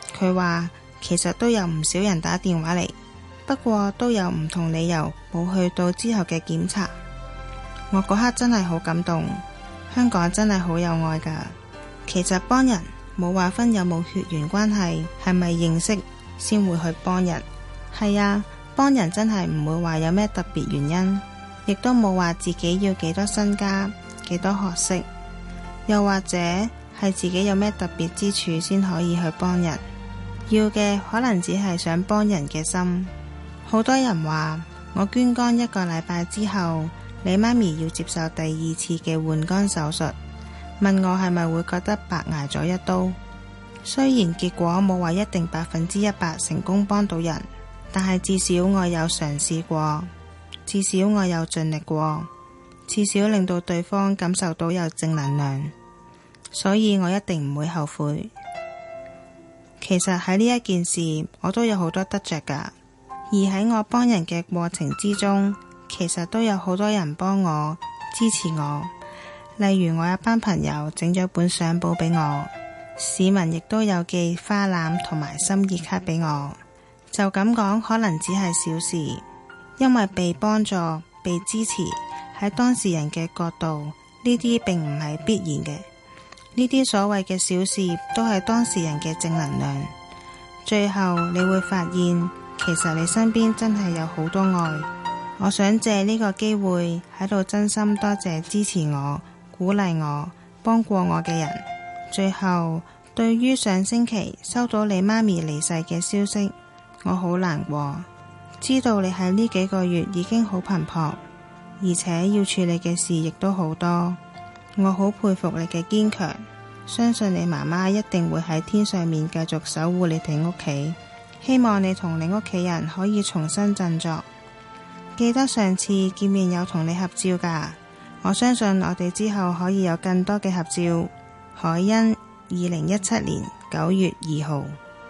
佢話其實都有唔少人打電話嚟，不過都有唔同理由冇去到之後嘅檢查。我嗰刻真係好感動，香港真係好有愛㗎。其實幫人冇話分有冇血緣關係，係咪認識先會去幫人。係啊，幫人真係唔會話有咩特別原因，亦都冇話自己要幾多身家、幾多學識，又或者係自己有咩特別之處先可以去幫人。要嘅可能只係想幫人嘅心。好多人話我捐肝1個禮拜之後，你媽咪要接受第2次嘅換肝手術，問我係咪會覺得白挨咗一刀。雖然結果冇話一定100%成功幫到人，但係至少我有嘗試過，至少我有盡力過，至少令到對方感受到有正能量，所以我一定唔會後悔。其實喺呢一件事我都有好多得着㗎，而喺我幫人嘅過程之中，其實都有好多人幫我支持我。例如我一班朋友整咗本相簿俾我，市民亦都有寄花籃同埋心意卡俾我。就咁講可能只係小事，因為被幫助、被支持，喺當事人嘅角度，呢啲並唔係必然嘅。呢啲所謂嘅小事都係當事人嘅正能量。最後你會發現，其實你身邊真係有好多愛。我想借呢個機會喺度真心多謝支持我、鼓勵我、幫過我嘅人。最後，對於上星期收到你媽咪離世嘅消息，我好難過。知道你喺呢幾個月已經好頻撲，而且要處理嘅事亦都好多。我好佩服你嘅堅強，相信你媽媽一定會喺天上面繼續守護你哋屋企。希望你同你屋企人可以重新振作。記得上次見面有同你合照㗎，我相信我哋之後可以有更多嘅合照。海欣，2017年9月2號。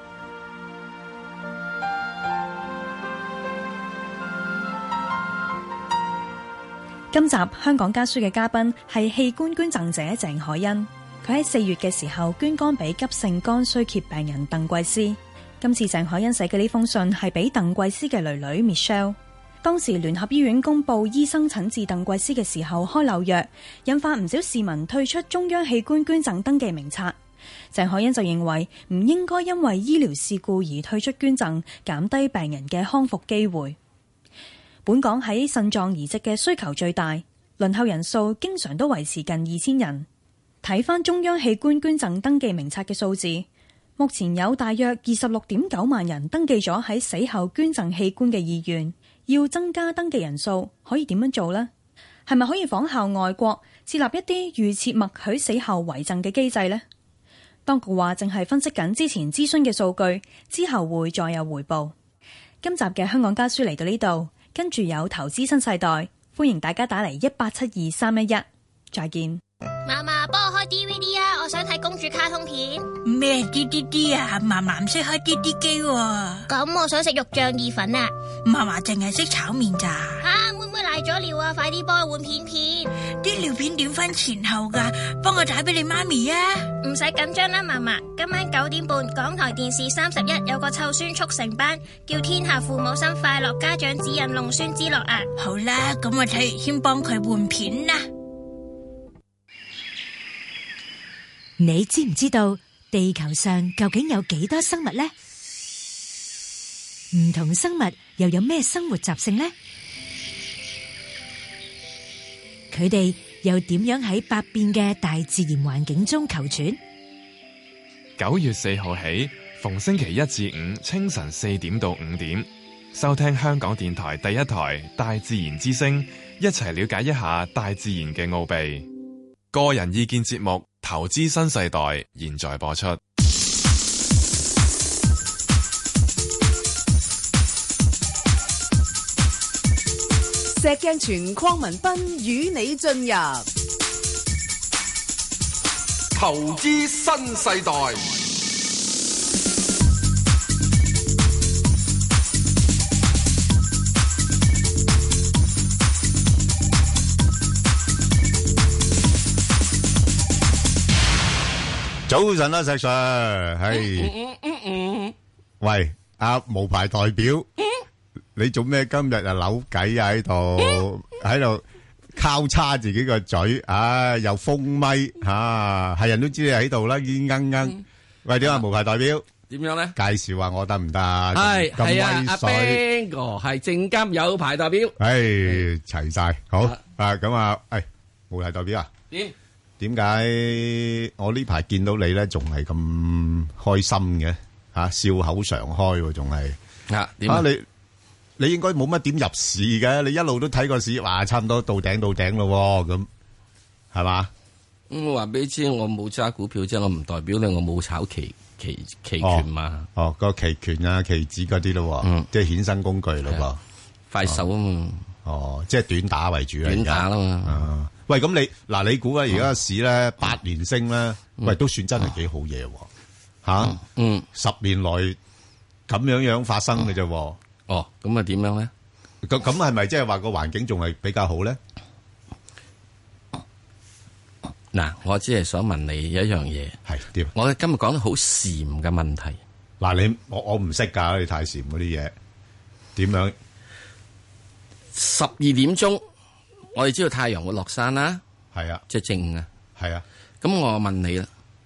今集香港家書嘅嘉賓係器官捐贈者鄭海欣，佢喺4月嘅時候捐肝俾急性肝衰竭病人鄧桂思。今次鄭海欣寫嘅呢封信係俾鄧桂思嘅女女 Michelle。當時聯合醫院公布醫生診治鄧桂思嘅時候開漏藥，引發唔少市民退出中央器官捐贈登記名冊。鄭海欣就認為唔應該因為醫療事故而退出捐贈，減低病人嘅康復機會。本港喺腎臟移植嘅需求最大，輪候人數經常都維持近2000人。睇返中央器官捐贈登記名冊嘅數字，目前有大約26.9萬人登記咗喺死後捐贈器官嘅意願。要增加登記人數，可以點樣做呢？係咪可以仿效外國設立一啲預設默許死後遺贈嘅機制呢？當局話正係分析緊之前諮詢嘅數據，之後會再有回報。今集嘅香港家書嚟到呢度，跟住有投資新世代，歡迎大家打嚟1872311，再見。 嫲嫲，幫我開 DVD 啊！我想睇公主卡通片。 咩 DVD 啊？嫲嫲唔識開 DVD 機喎。 咁我想食肉醬意粉啊！ 嫲嫲淨係識炒麵咋。 妹妹瀨咗尿啊！快啲幫我換片片。 啲尿片點分前後噶？幫我打俾你媽咪啊！ 唔使緊張啦，嫲嫲。今晚9點半，港台電視31有個湊孫速成班，叫天下父母心快樂家長指引弄孫之樂啊！ 好啦，咁我睇完先幫佢換片啦。 你知唔知道地球上究竟有幾多生物呢？唔同生物又有咩生活習性呢？佢哋又點樣喺百變嘅大自然環境中求存？9月4號起，逢星期1至5清晨4點到5點，收聽香港電台第一台《大自然之聲》，一齊了解一下大自然嘅奧秘。個人意見節目《投資新世代》現在播出。 石鏡泉鄺民彬與你進入投資新世代。 早晨啦，石 Sir，係喂，無牌代表，你做咩今日啊扭計啊喺度交叉自己個嘴，又封咪係人都知你喺度啦，已經鶯。喂，點啊無牌代表？ 點樣咧？ 介紹下我得唔得？ 係啊，阿 Ben 哥係證監有牌代表。 齊晒好咁啊！無牌代表啊？點解我呢排見到你咧，仲係咁開心嘅？笑口常開，仲係點啊？ 你應該冇乜點入市嘅，你一路都睇個市，話差唔多到頂咯，咁係嘛？ 我話俾你知，我冇揸股票啫，我唔代表你，我冇炒期權嘛。 個期權啊、期指嗰啲咯，即係衍生工具咯， 快手啊嘛。 即係短打為主啦。 短打啦嘛。 喂，咁你估咧，而家市咧8連升咧，喂，都算真係幾好嘢喎，10年內咁樣發生嘅啫。 咁啊點樣咧？ 咁係咪即係話個環境仲係比較好咧？ 嗱，我只係想問你一樣嘢， 係點？ 我今日講得好禪嘅問題。 嗱，我唔識㗎，你太禪嗰啲嘢點樣 ？12點鐘，我哋知道太陽會落山啦。 係啊， 即係正午啊。 係啊。咁我問你啦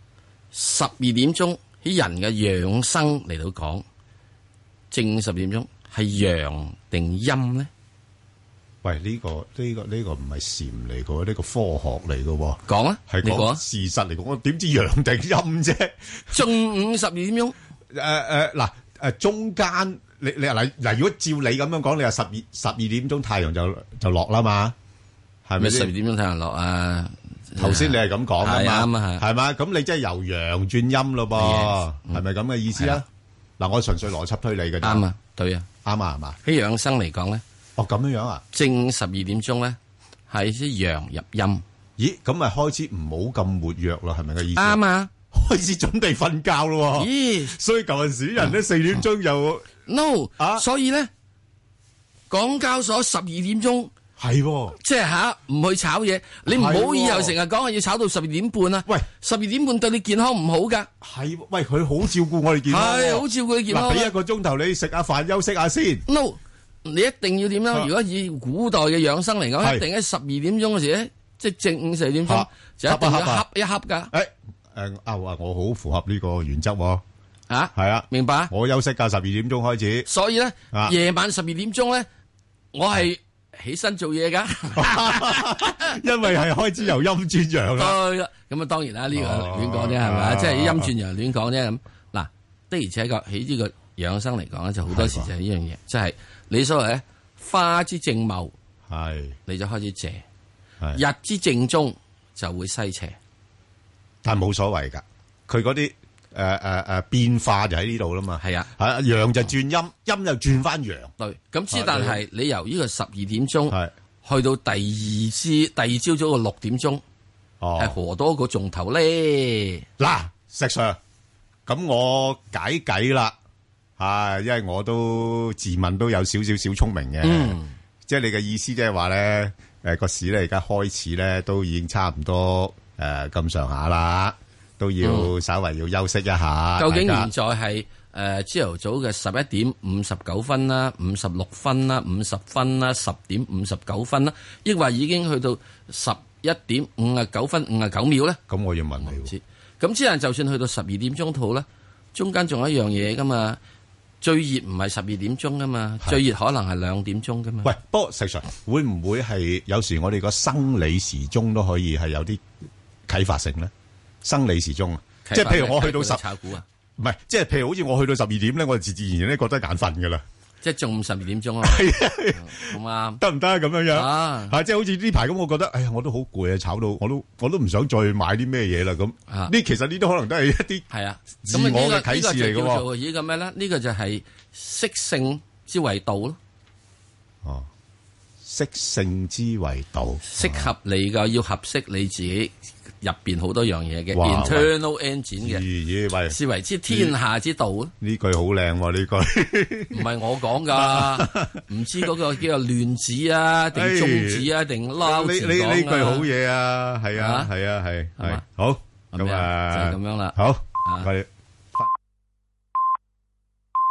，12點鐘喺人嘅養生嚟到講，正午12點鐘係陽定陰咧？ 喂，呢個唔係禪嚟嘅，呢個科學嚟嘅。 講啊， 係講事實嚟講，我點知陽定陰啫？ 中午12點鐘， 中間你嗱，如果照你咁樣講，你話12點鐘太陽就落啦嘛，係咪 12點鐘太陽落啊？ 頭先你係咁講噶嘛，係嘛？咁你即係由陽轉陰咯噃，係咪咁嘅意思啊？嗱，我純粹邏輯推理嘅啫。 啱啊，對啊， 啱啊，係嘛？ 喺養生嚟講咧。 咁樣啊？ 正12點鐘咧，係啲陽入陰。 咦，咁咪開始唔好咁活躍咯？係咪個意思？ 啱啊， 開始準備瞓覺咯。 咦， 所以舊陣時人咧4點鐘又 no 所以咧，港交所12點鐘係， 即係唔去炒嘢。你唔好以後成日講話要炒到12點半啊。喂，12點半對你健康唔好噶。 係，喂，佢好照顧我哋健康。 係，好照顧你健康。 俾1個鐘頭你食下飯休息下先。 no。你一定要點樣？如果以古代嘅養生嚟講，一定喺12點鐘嘅時咧，即係正午4點鐘，就一定要恰一恰噶。 我好符合呢個原則。 係啊，明白。 我休息㗎12點鐘開始。 所以咧，夜晚12點鐘咧，我係起身做嘢噶。 因為係開始由陰轉陽啦。 對啦，咁啊當然啦，呢個亂講啫，係咪？即係陰轉陽亂講啫咁。嗱，的而且確喺呢個養生嚟講咧，就好多時就係呢樣嘢，即係。你所謂咧花之正茂，你就開始謝；日之正中就會西斜。 但係冇所謂噶，佢嗰啲變化就喺呢度啦嘛。係啊，陽就轉陰，陰又轉翻陽。對， 咁之但係你由呢個12點鐘去到第二朝早嘅6點鐘，係何多個鐘頭咧？ 嗱，石 Sir，咁我解計啦。因為我都自問都有少聰明嘅，即係你嘅意思，即係話咧，個市咧而家開始咧都已經差唔多咁上下啦，都要稍為要休息一下。 究竟現在係朝頭早嘅11點59分啦、56分啦、50分啦、10點59分啦，抑或已經去到11點59分59秒咧？ 咁我要問你， 咁之但就算去到12點鐘套咧，中間仲有一樣嘢噶嘛？最熱唔係12點鐘噶嘛，最熱可能係2點鐘噶嘛。 喂，不過實際上會唔會係有時我哋個生理時鐘都可以係有啲啟發性咧？生理時鐘啊，即係譬如我去到炒股啊， 唔係，即係譬如好似我去到12點咧，我就自然咧覺得眼瞓噶啦。 即係中午12點鐘啊，好啱得唔得咁樣樣？即係好似呢排咁，我覺得，哎呀，我都好攰啊，炒到我都唔想再買啲咩嘢啦。咁呢，其實呢啲可能都係一啲係啊， 自我嘅啟示嚟嘅。 叫做呢個咩咧？呢個就係適性之謂道咯。 哦，適性之謂道， 適合你嘅要合適你自己。入邊好多樣嘢嘅 internal engine 嘅，視為之天下之道咯。 呢句好靚喎，呢句唔係我講噶，唔知嗰個叫做亂子啊，定中子啊，定撈字講啊。呢句好嘢啊，係啊，係啊，係好咁啊， 就係咁樣啦。 好，我哋。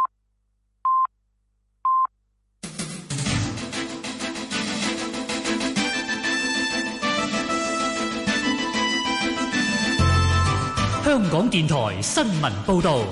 港電台新聞報道。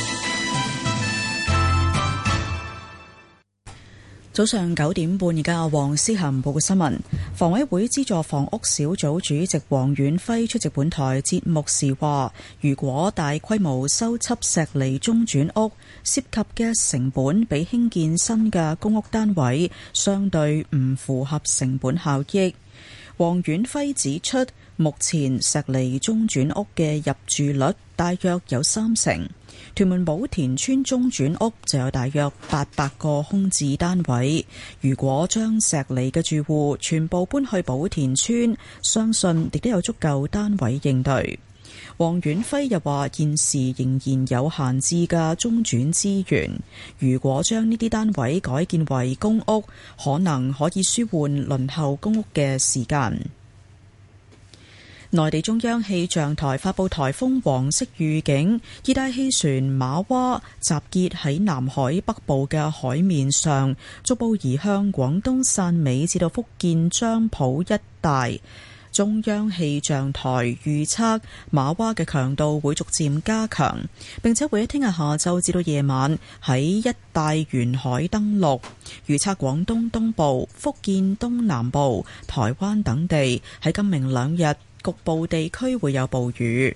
早上9點半，而家黃思涵報嘅新聞。房委會資助房屋小組主席黃遠輝出席本台節目時話，如果大規模修葺石籬中轉屋，涉及嘅成本比興建新嘅公屋單位相對唔符合成本效益。黃遠輝指出，目前石籬中轉屋嘅入住率大約有30%。屯門寶田村中轉屋就有大約800個空置單位，如果將石籬嘅住戶全部搬去寶田村，相信亦都有足夠單位應對。黃遠輝又話，現時仍然有閒置嘅中轉資源，如果將呢啲單位改建為公屋，可能可以舒緩輪候公屋嘅時間。內地中央氣象台發布颱風黃色預警，熱帶氣旋瑪娃集結喺南海北部嘅海面上，逐步移向廣東汕尾至到福建漳浦一帶。中央氣象台預測瑪娃嘅強度會逐漸加強，並且會喺聽日下晝至到夜晚喺一帶沿海登陸。預測廣東東部、福建東南部、台灣等地喺今明兩日局部地區會有暴雨。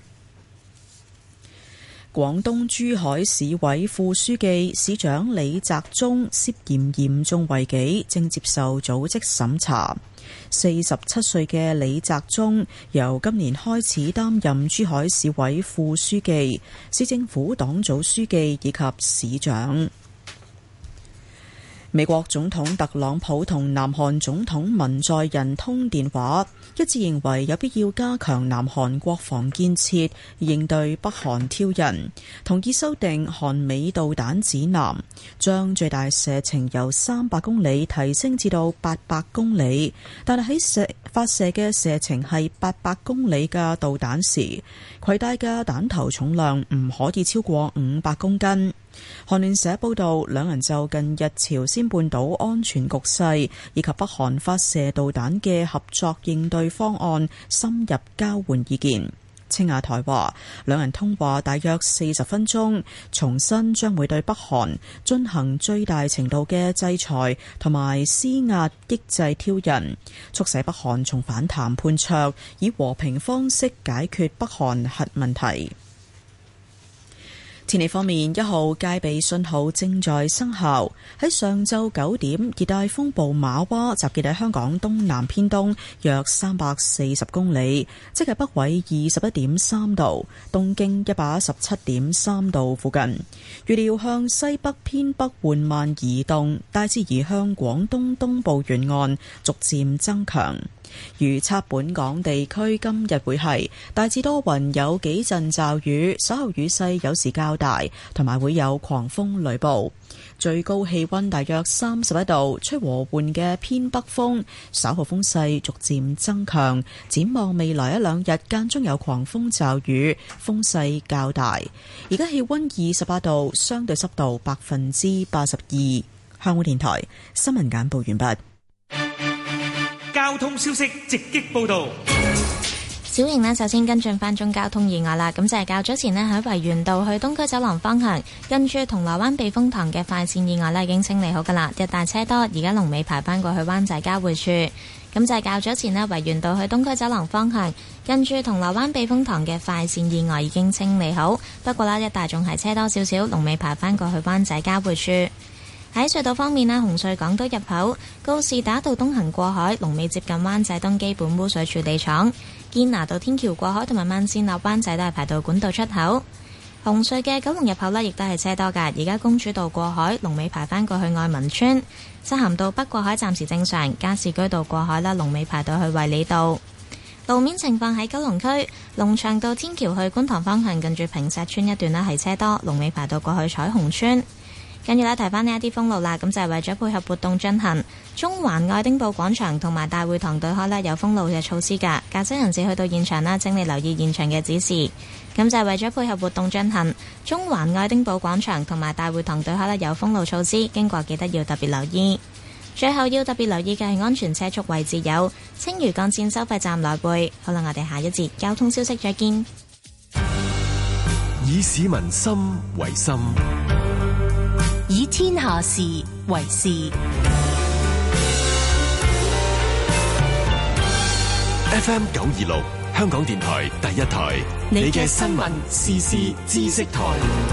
廣東珠海市委副書記、市長李澤忠涉嫌嚴重違紀，正接受組織審查。47歲嘅李澤忠由今年開始擔任珠海市委副書記、市政府黨組書記以及市長。美國總統特朗普同南韓總統文在寅通電話，一致認為有必要加強南韓國防建設，應對北韓挑釁，同意修訂韓美導彈指南，將最大射程由300公里提升至到800公里，但係喺發射嘅射程係800公里嘅導彈時，攜帶嘅彈頭重量唔可以超過500公斤。韓聯社報道，兩人就近日朝鮮半島安全局勢以及北韓發射導彈嘅合作應對方案深入交換意見。青瓦台話，兩人通話大約40分鐘，重申將會對北韓進行最大程度嘅制裁同埋施壓抑制挑釁，促使北韓重返談判桌，以和平方式解決北韓核問題。天氣方面，1號戒備信號正在生效。喺上晝9點，熱帶風暴瑪娃集結喺香港東南偏東約340公里，即係北緯21.3度、東經117.3度附近。預料向西北偏北緩慢移動，大致移向廣東東部沿岸，逐漸增強。預測本港地區今日會係大致多雲，有幾陣驟雨，稍後雨勢有時較大，同埋會有狂風雷暴。最高氣溫大約31度，吹和緩嘅偏北風，稍後風勢逐漸增強。展望未來一兩日間中有狂風驟雨，風勢較大。而家氣溫28度，相對濕度82%。香港電台新聞簡報完畢。 交通消息直擊報道。 小瑩呢，首先跟進翻宗交通意外啦。咁就係較早前呢，喺維園道去東區走廊方向，跟住銅鑼灣避風塘嘅快線意外呢已經清理好噶啦，一帶車多，而家龍尾排翻過去灣仔交匯處。咁就係較早前呢，維園道去東區走廊方向，跟住銅鑼灣避風塘嘅快線意外已經清理好，不過啦，一帶仲係車多少少，龍尾排翻過去灣仔交匯處。喺隧道方面呢，紅隧港島入口告士打道東行過海，龍尾接近灣仔東基本污水處理廠；堅拿道天橋過海同埋慢線落灣仔都係排到管道出口。紅隧嘅九龍入口呢，亦都係車多㗎。而家公主道過海，龍尾排返過去愛民村；漆咸道北過海暫時正常，加士居道過海啦，龍尾排到去衛理道。路面情況喺九龍區龍翔道天橋去觀塘方向，近住坪石村一段呢係車多，龍尾排到過去彩虹村。跟住咧，提翻呢一啲封路啦，咁就係為咗配合活動進行，中環愛丁堡廣場同埋大會堂對開呢有封路嘅措施㗎。駕駛人士去到現場啦，請你留意現場嘅指示。咁就係為咗配合活動進行，中環愛丁堡廣場同埋大會堂對開呢有封路措施，經過記得要特別留意。最後要特別留意嘅係安全車速位置有青嶼幹線收費站來回。好啦，我哋下一節交通消息再見。 以市民心為心， 以天下事為事。 FM 926，香港電台第一台，你嘅新聞時事知識台。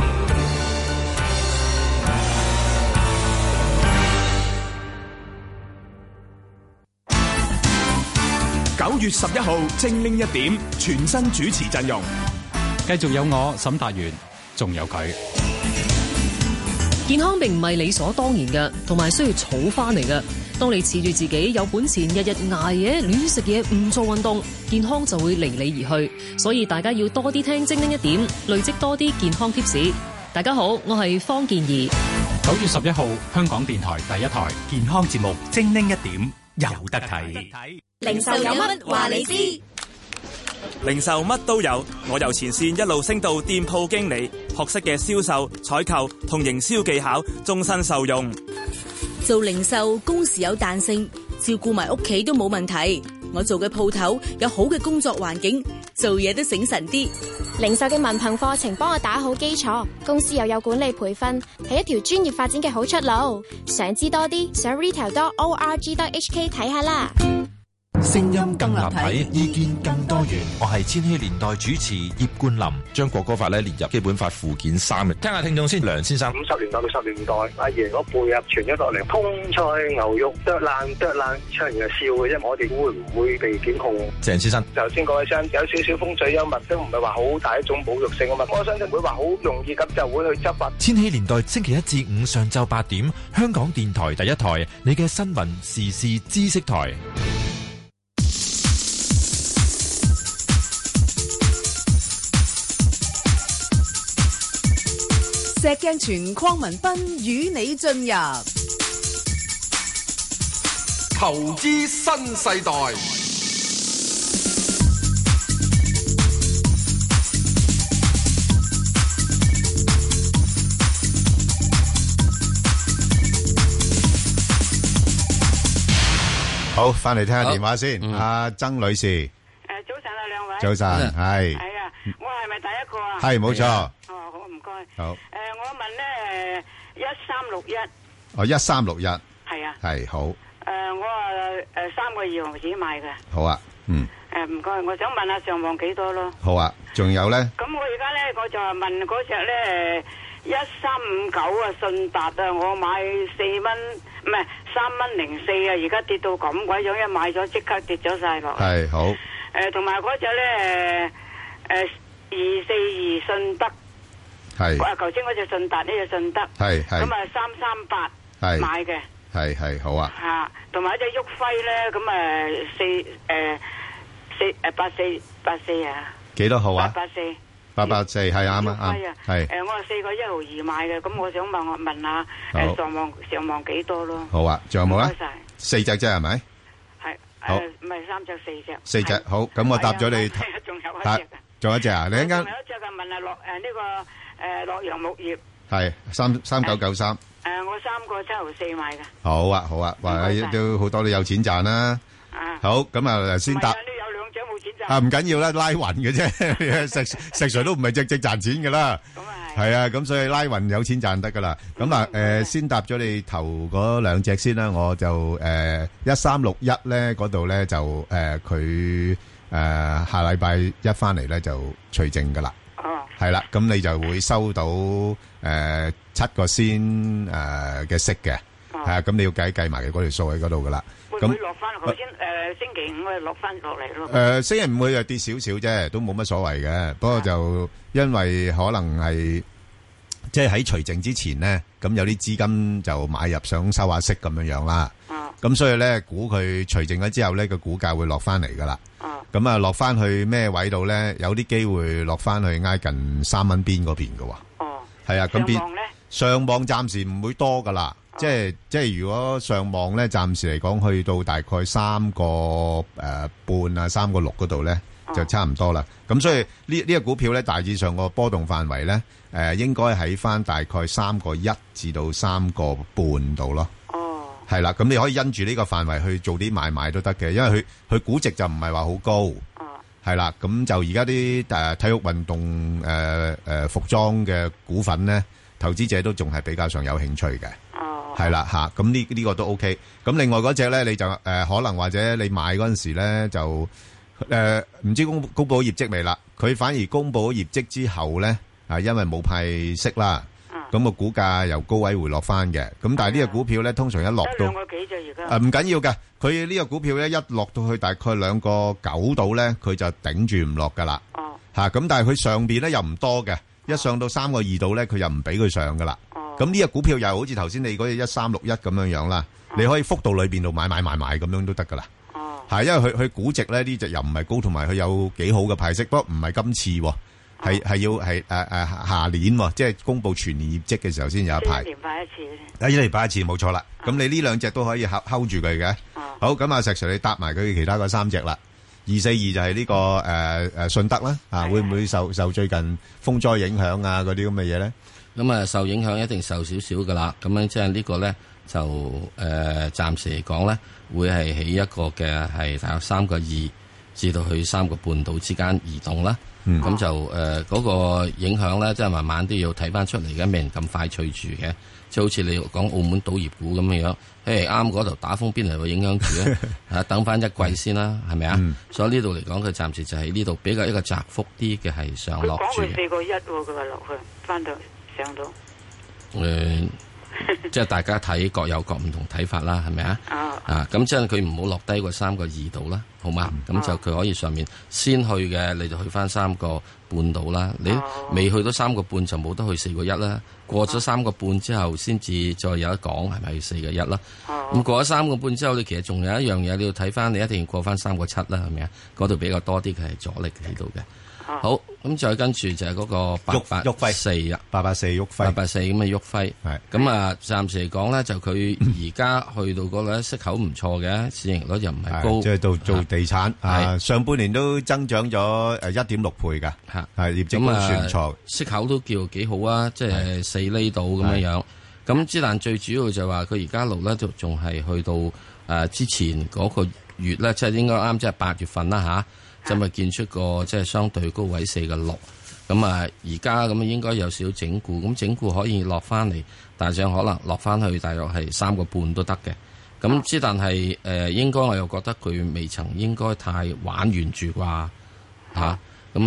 9月11號精靈1點，全新主持陣容， 繼續有我沈達元，仲有佢。 健康並唔係理所當然嘅，同埋需要儲翻嚟嘅。當你恃住自己有本錢，日日捱夜亂食嘢，唔做運動，健康就會離你而去。所以大家要多啲聽精靈1點，累積多啲健康貼士。大家好，我係方健儀。 9月11號，香港電台第一台健康節目《精靈1點》有得睇。 零售有乜話你知？ 零售乜都有，我由前線一路升到店鋪經理，學識嘅銷售、採購同營銷技巧，終身受用。 做零售工時有彈性，照顧埋屋企都冇問題。我做嘅鋪頭有好嘅工作環境，做嘢都醒神啲。 零售嘅文憑課程幫我打好基礎，公司又有管理培訓，係一條專業發展嘅好出路。想知多啲，上 retail.org.hk 睇下啦。 聲音更立體，意見更多元。我係千禧年代主持葉冠霖，將國歌法列入基本法附件3。聽下聽眾先，梁先生。 50年代、60年代，阿爺嗰輩啊傳咗落嚟，通菜牛肉剁爛，唱完就笑嘅啫。我哋會唔會被檢控？ 鄭先生， 頭先嗰位聲有少少風趣幽默，都唔係話好大一種侮辱性啊嘛。我相信唔會話好容易咁就會去執法。 千禧年代星期一至五上晝8點，香港電台第一台，你嘅新聞時事知識台。 石鏡泉鄺民彬與你進入投資新世代。 好，翻嚟聽下電話先。阿曾女士， 早晨啊，兩位。 早晨，係。 係啊，我係咪第一個啊？ 係，冇錯。 哦，好，唔該。 好。 我問咧，1361。 哦，1361。 係啊。 係好。 我3個2毫紙買嘅。 好啊，嗯。 唔該，我想問下上望幾多咯？ 好啊，仲有咧？ 咁我而家咧，我就係問嗰隻咧1359啊，信達啊，我買4蚊，唔係3.04啊，而家跌到咁鬼樣，一買咗即刻跌咗晒落。 係好。 同埋嗰隻咧242信德。 係。 頭先嗰隻信達，呢隻信德。 係。 咁啊338買嘅。 係好啊。 嚇，同埋一隻旭輝咧，咁84啊。 幾多號啊？884係啱啊，係。 我係4個1毫2買嘅，咁我想問下上望幾多咯？ 好啊，仲有冇啊？ 唔該晒。 4隻啫係咪？ 係。 好。 唔係3隻4隻。 4隻好，咁我答咗你。 仲有一隻。 仲有一隻啊？你一陣間。 仲有一隻嘅問下呢個洛陽木業。 係3993。 我3個7毫4買嘅。 好啊，好啊，話都好多都有錢賺啦。好，咁啊先答。 呢有兩隻冇錢賺。 唔緊要啦，拉勻嘅啫，石 Sir 都唔係隻賺錢噶啦。咁啊係啊，咁所以拉勻有錢賺得噶啦。咁啊先答咗你頭嗰兩隻先啦，我就1361咧嗰度咧就佢下禮拜一翻嚟咧就除淨噶啦。係啦，咁你就會收到7個先嘅息嘅，係啊，咁你要計埋嗰條數喺嗰度噶啦。 會唔會落翻？頭先星期五啊落翻落嚟咯。 星期五會又跌少少啫，都冇乜所謂嘅。不過就因為可能係即係喺除淨之前咧，咁有啲資金就買入想收下息咁樣啦。咁所以咧，估佢除淨咗之後咧，個股價會落翻嚟噶啦。咁啊，落翻去咩位度咧？有啲機會落翻去挨近3蚊邊嗰邊嘅喎。係啊，咁上望暫時唔會多噶啦。即係如果上望咧，暫時嚟講去到大概3個半啊，3個6嗰度咧，就差唔多啦。咁所以呢個股票咧，大致上個波動範圍咧，應該喺翻大概3個1至到3個半度咯。係啦，咁你可以因住呢個範圍去做啲買賣都得嘅，因為佢估值就唔係話好高， 係啦，咁就而家啲體育運動服裝嘅股份咧，投資者都仲係比較上有興趣嘅。係啦嚇，咁呢個都 OK。咁另外嗰隻咧，你就可能或者你買嗰陣時咧就唔知公佈業績未啦？佢反而公佈咗業績之後咧，因為冇派息啦，咁個股價由高位回落翻嘅。咁但係呢個股票咧，通常一落到 2個幾啫，而家唔緊要嘅。佢呢個股票咧一落到去大概2個9度咧，佢就頂住唔落噶啦。嚇，咁但係佢上邊咧又唔多嘅，一上到3個2度咧，佢又唔俾佢上噶啦。咁呢個股票又好似頭先你嗰隻1361咁樣樣啦，你可以幅度裏邊度買咁樣都得噶啦。係因為佢估值咧呢隻又唔係高，同埋佢有幾好嘅派息，不過唔係今次，係要係下年，即係公布全年業績嘅時候先有一派。 一年派一次。 一年派一次冇錯啦。咁你呢兩隻都可以 hold 住佢嘅。好，咁阿石 Sir 你搭埋佢其他嗰3隻啦。242就係呢個信德啦，會唔會受最近風災影響啊嗰啲咁嘅嘢咧？ 咁啊，受影響一定受少少噶啦。咁樣即係呢個咧就暫時嚟講咧，會係起一個嘅係大約3個2至到去3個半度之間移動啦。咁就嗰個影響咧，即係慢慢都要睇翻出嚟嘅，未人咁快脆住嘅。即係好似你講澳門賭業股咁樣樣，啱嗰度打風邊嚟會影響住咧？等翻一季先啦，係咪啊？所以呢度嚟講，佢暫時就喺呢度比較一個窄幅啲嘅係上落住。 佢講佢4個1喎，佢話落去翻到上到。 即係大家睇各有各唔同睇法啦，係咪啊？咁即係佢唔好落低過3個2度啦，好嘛？咁就佢可以上面先去嘅，你就去翻3個半度啦。你未去到3個半就冇得去4個1啦。過咗3個半之後，先至再有得講係咪4個1啦？咁過咗3個半之後，你其實仲有一樣嘢你要睇翻，你一定要過翻3個7啦，係咪啊？嗰度比較多啲嘅係阻力喺度嘅。好，咁再跟住就係嗰個884啊 ，884旭輝 ，884咁嘅旭輝，係咁啊！暫時嚟講咧，就佢而家去到嗰個息口唔錯嘅，市盈率又唔係高， 即係到做地產，上半年都增長咗1.6倍㗎，係業績都算唔錯， 息口都叫幾好啊，即係4厘度咁樣樣。咁之但最主要就係話佢而家路咧，就仲係去到之前嗰個月咧，即係應該啱，即係8月份啦嚇。就咪見出個即係相對高位4個6，咁啊而家咁應該有少少整固，咁整固可以落翻嚟，大致上可能落翻去大約係3個半都得嘅。咁之但係應該我又覺得佢未曾應該太玩完住啩嚇。咁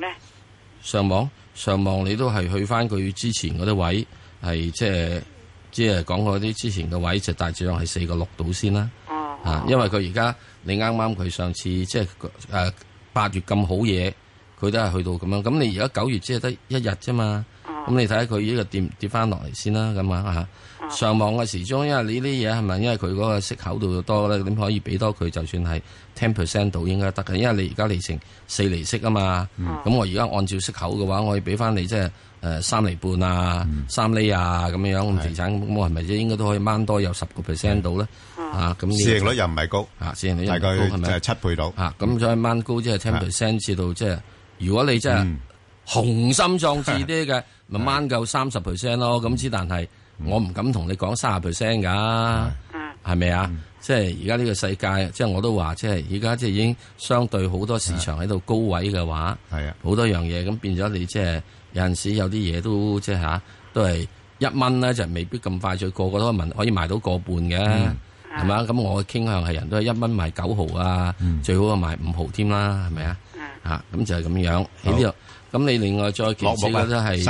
上網你都係去翻佢之前嗰啲位，係即係講嗰啲之前嘅位就大致上係4個6度先啦。因為佢而家你啱啱佢上次即係8月咁好嘢，佢都係去到咁樣。咁你而家9月只係得1日啫嘛。咁你睇下佢呢個跌翻落嚟先啦。咁啊上網嘅時鐘，因為你呢啲嘢係咪因為佢嗰個息口度多咧，點可以俾多佢？就算係 10% 度應該得嘅，因為你而家利成4厘息啊嘛。咁我而家按照息口嘅話，我可以俾翻你即係3厘半啊、3厘啊咁樣咁地產，咁我係咪即係應該都可以掹多有10% 度咧？咁市盈率又唔係高， 市盈率大概係咪7倍到？ 咁再掹高即係 10% 至到即係，如果你真係雄心壯志啲嘅，咪掹夠30% 咯。咁之但係我唔敢同你講30% 㗎，係咪啊？即係而家呢個世界，即係我都話，即係而家即係已經相對好多市場喺度高位嘅話，好多樣嘢咁變咗你即係有陣時有啲嘢都即係都係1蚊咧，就未必咁快脆個個都可以賣到個半嘅。係嘛？咁我嘅傾向係人都係1蚊賣9毫啊，最好啊賣5毫添啦，係咪啊？咁就係咁樣喺呢度。咁你另外再其次咧都係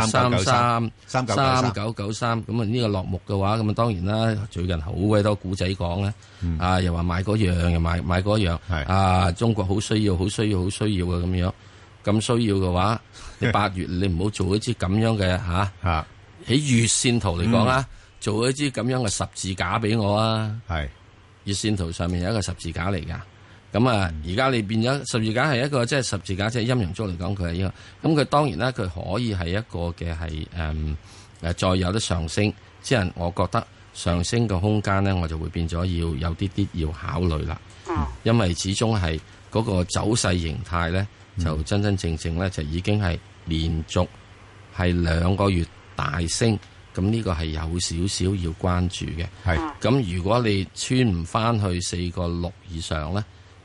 3993。咁啊呢個落木嘅話，咁啊當然啦，最近好鬼多古仔講咧，又話買嗰樣，又買嗰樣，中國好需要嘅咁樣。咁需要嘅話，你8月你唔好做一支咁樣嘅喺月線圖嚟講做一支咁樣嘅十字架俾我啊！係月線圖上面有一個十字架嚟噶，咁而家你變咗十字架係一個即係十字架，即係陰陽燭嚟講佢係呢個，咁佢當然啦，佢可以係一個嘅係再有得上升，即係我覺得上升嘅空間咧，我就會變咗要有啲要考慮啦。因為始終係嗰個走勢形態咧，就真正咧就已經係連續係2個月大升。咁呢個係有少少要關注嘅，咁如果你穿唔翻去4個6以上咧，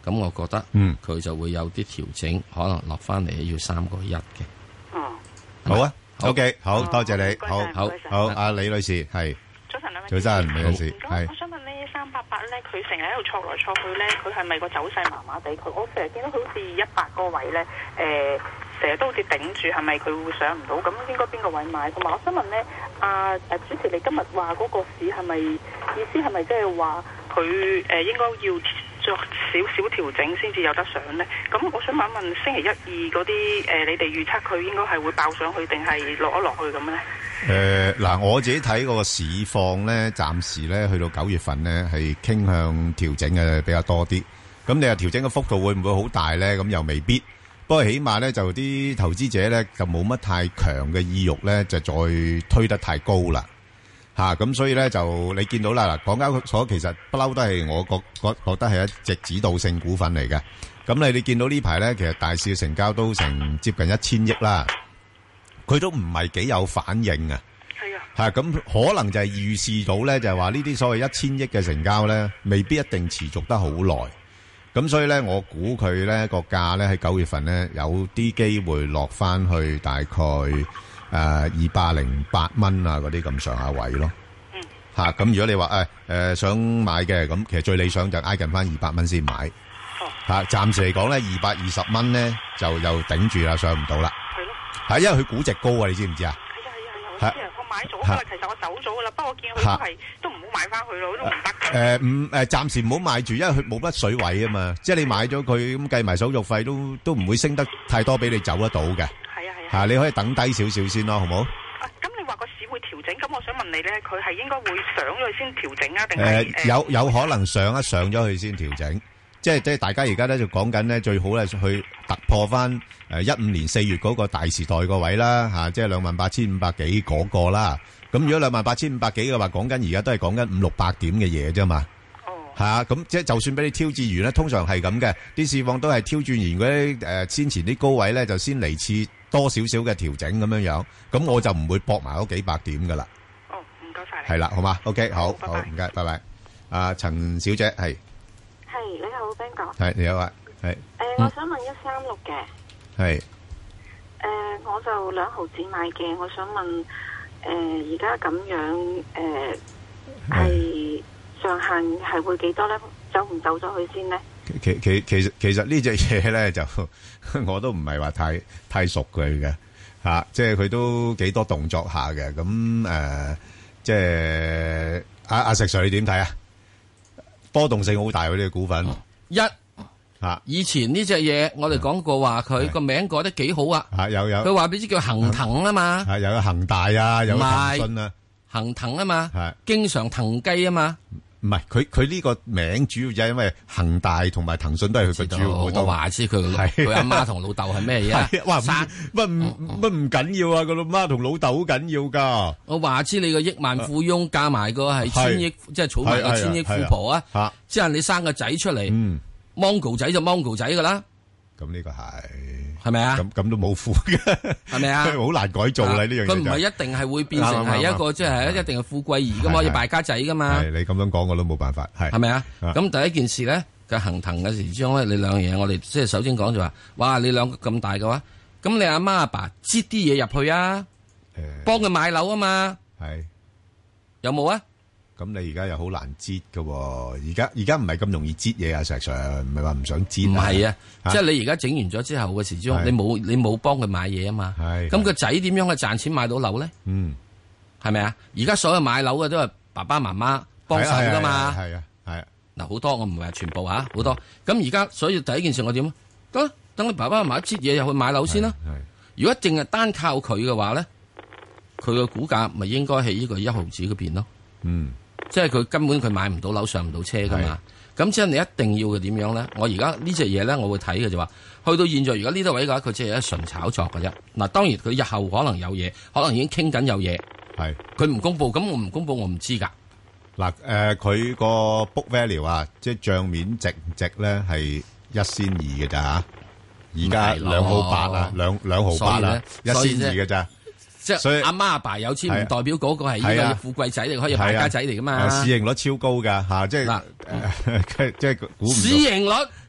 咁我覺得佢就會有啲調整，可能落翻嚟要3個1嘅。 好啊 ，OK， 好多謝你，好，阿李女士係。 早晨兩位。 早晨，李女士係。 我想問呢388咧，佢成日喺度挫來挫去咧，佢係咪個走勢麻麻地？我成日見到佢好似100個位咧，成日都好似頂住，係咪佢會上唔到？咁應該邊個位買？同埋我想問咧，主持你今日話嗰個市係咪意思係咪即係話佢應該要作少少調整先至有得上咧？咁我想問一問星期1、2嗰啲你哋預測佢應該係會爆上去定係落一落去咁咧？ 嗱，我自己睇嗰個市況咧，暫時咧去到9月份咧係傾向調整嘅比較多啲。咁你話調整嘅幅度會唔會好大咧？咁又未必。不過起碼咧就啲投資者咧就冇乜太強嘅意欲咧，就再推得太高啦。咁所以咧就你見到啦，嗱，港交所其實不嬲都係我覺得係一隻指導性股份嚟嘅。咁你見到呢排咧，其實大市嘅成交都成接近1000億啦，佢都唔係幾有反應啊。係啊。咁可能就係預示到咧，就係話呢啲所謂1000億嘅成交咧，未必一定持續得好耐。咁所以咧，我估佢咧個價咧喺9月份咧有啲機會落翻去大概208蚊啊嗰啲咁上下位咯。咁如果你話想買嘅，咁其實最理想就挨近翻200蚊先買。暫時嚟講咧，220蚊咧就又頂住啦，上唔到啦。係咯。係因為佢估值高啊，你知唔知啊？係啊，我買咗㗎啦，其實我走咗㗎啦，不過我見佢都唔好買翻去咯，都唔得嘅。 暫時唔好買住，因為佢冇乜水位啊嘛。即係你買咗佢咁計埋手續費都唔會升得太多俾你走得到嘅。係啊，你可以等低少少先咯，好冇？ 咁你話個市會調整，咁我想問你咧，佢係應該會上咗去先調整啊，定係有可能上咗去先調整？即係大家而家咧就講緊咧，最好咧去突破翻15年4月嗰個大時代個位啦，即係28,500幾嗰個啦。咁如果28,500幾嘅話，講緊而家都係講緊500-600點嘅嘢啫嘛。咁即係就算俾你挑戰完咧，通常係咁嘅，啲市況都係挑戰完嗰啲先前啲高位咧，就先嚟次多少少嘅調整咁樣樣。咁我就唔會搏埋嗰幾百點噶啦。 唔該晒。 係啦，好嘛 ？OK， 好，唔該，拜拜。陳小姐係。 你好 Ben 哥。 係你好啊，係。 我想問136嘅。 係。 我就2毫子買嘅，我想問，而家咁樣，係上限係會幾多咧？走唔走咗去先咧？ 其實呢隻嘢咧就我都唔係話太熟佢嘅即係佢都幾多動作下嘅。咁即係阿石 Sir 你點睇啊？波動性好大嗰啲股份。 以前呢隻嘢我哋講過話佢個名改得幾好啊。 有佢話俾啲叫恒騰啊嘛。 有恒大啊，有騰訊啊， 恒騰啊嘛。經常騰雞啊嘛。 唔係佢呢個名主要就係因為恒大同埋騰訊都係佢嘅主要股東。我話知佢阿媽同老豆係咩嘢？ 哇！乜唔緊要啊？個老媽同老豆好緊要噶。 我話知你個億萬富翁加埋個係千億，即係儲埋個千億富婆啊！即係你生個仔出嚟，Mongo 仔就 Mongo 仔噶啦。 咁呢個係咪啊？ 咁都冇富嘅，係咪啊？好難改造啦呢樣嘢。 佢唔係一定係會變成係一個即係一定係富貴兒噶嘛，要敗家仔噶嘛。 係你咁樣講我都冇辦法。係咪啊？咁第一件事咧，嘅恒騰嘅時鐘咧，你兩樣嘢，我哋即係首先講就話，哇！你兩個咁大嘅話，咁你阿媽阿爸擠啲嘢入去啊，幫佢買樓啊嘛。 係有冇啊？ 咁你而家又好難擠噶，而家唔係咁容易擠嘢啊！石 Sir 唔係話唔想擠， 唔係啊，即係你而家整完咗之後嘅時鐘，你冇幫佢買嘢啊嘛。咁個仔點樣去賺錢買到樓咧？係咪啊？而家所有買樓嘅都係爸爸媽媽幫手噶嘛。係啊。嗱，好多我唔係話全部好多。咁而家所以第一件事我點啊？得等你爸爸媽媽擠嘢入去買樓先啦。如果淨係單靠佢嘅話咧，佢個股價咪應該喺呢個1毫子嗰邊咯。即係佢根本佢買唔到樓上唔到車噶嘛，咁即係你一定要嘅點樣咧？我而家呢隻嘢咧，我會睇嘅就話，去到現在如果呢度位嘅話，佢只係一純炒作嘅啫。嗱，當然佢日後可能有嘢，可能已經傾緊有嘢。係佢唔公布，咁我唔公布，我唔知噶。 嗱，佢個 book value 啊，即係賬面值咧係1仙2嘅咋吓，而家2毫8啊，2毫8啊，1仙2嘅咋。 即係阿媽阿爸有錢唔代表嗰個係呢個富貴仔嚟，可以敗家仔嚟噶嘛？ 市盈率超高噶吓，即係即係股唔到。 市盈率